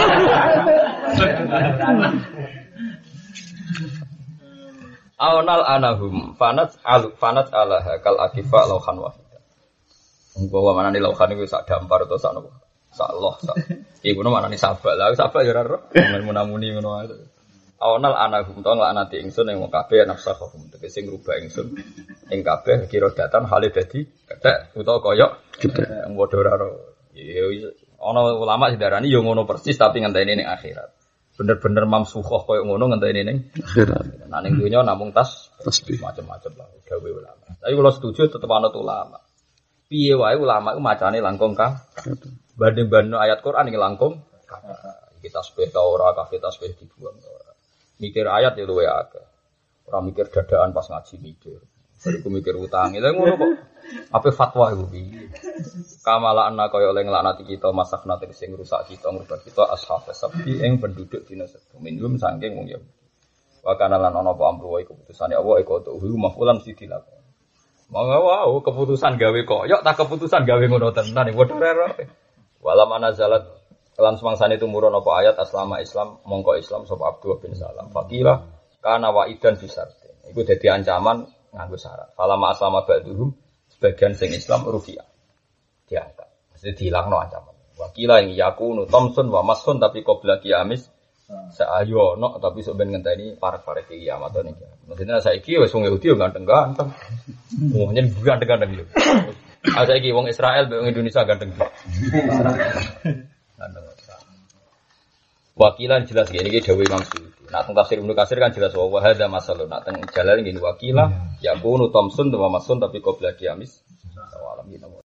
S1: Awnal anahum fanat alaha kal akifa lauhan wahida. Engko manane lauhan iku sak dampar utawa sak nopo? Sak loh sak. Iku manane sabak. Lah sabak ya ora ro. Munamuni ngono ae. Awnal anahum to nglaknati ingsun ing wong kabeh nafsahum tegese ngrubah ingsun ing kabeh kira datan hale dadi kethek utawa kaya kethek padha ora ro. Ya ana ulama sedarani ya ngono persis tapi ngenteni ning akhirat. Bener-bener mamsukhah koyo ngono ngenteni ning akhirat. Nah ning dunya namung tasbih macam-macam lah gawe ulama. Tapi kalau setuju tetep ana ulama. Piye wae ulama iku macane langkung ka. Banding-banding ayat Quran iki langkung kita tasbih ta ora kafe tasbih dibuang ora. Mikir ayat ya luwe akeh. Ora mikir dadaan pas ngaji mikir. Bariku mikir utang. Lha ngono kok. Apa fatwa iku piye? Kamala anna kaya oleh nglaknati kita masakna sing rusak kita ngubah kita ashab sapi ing penduduk dina sedo minum saking wong ya. Wa kana lan ana apa amru wae keputusane Allah iku tuh mafulan mesti dilakoni. Monggo keputusan gawe koyok tak keputusan gawe ngono tenan padha rero. Wala manazalat lan semangsane tumurun apa ayat aslama Islam mongko Islam sapa Abdullah bin Salam. Faqila kana waidan bisarti. Iku dadi ancaman nganggo syarat. Falama aslama ba'duhum sebagian sing Islam rufiah. Diangkat. Mesti dihilangno ancaman. Wakila yang yakunu Thompson wa Mason tapi qabla kiamis sa'ayono tapi sok ben ngenteni parek-parek kiamat niki. Maksudnya saiki wis wong Yahudi yo ganteng-ganteng. Wong nyen ganteng-ganteng yo. Saiki wong Israel wong Indonesia ganteng. Wakilan jelas gini iki dawuh Imam Suyuti. Nak teng tafsir Ibnu Katsir kan jelas wa hadza masalun. Nak teng jalan ngene wakila yakunu Thompson wa Mason tapi qabla kiamis.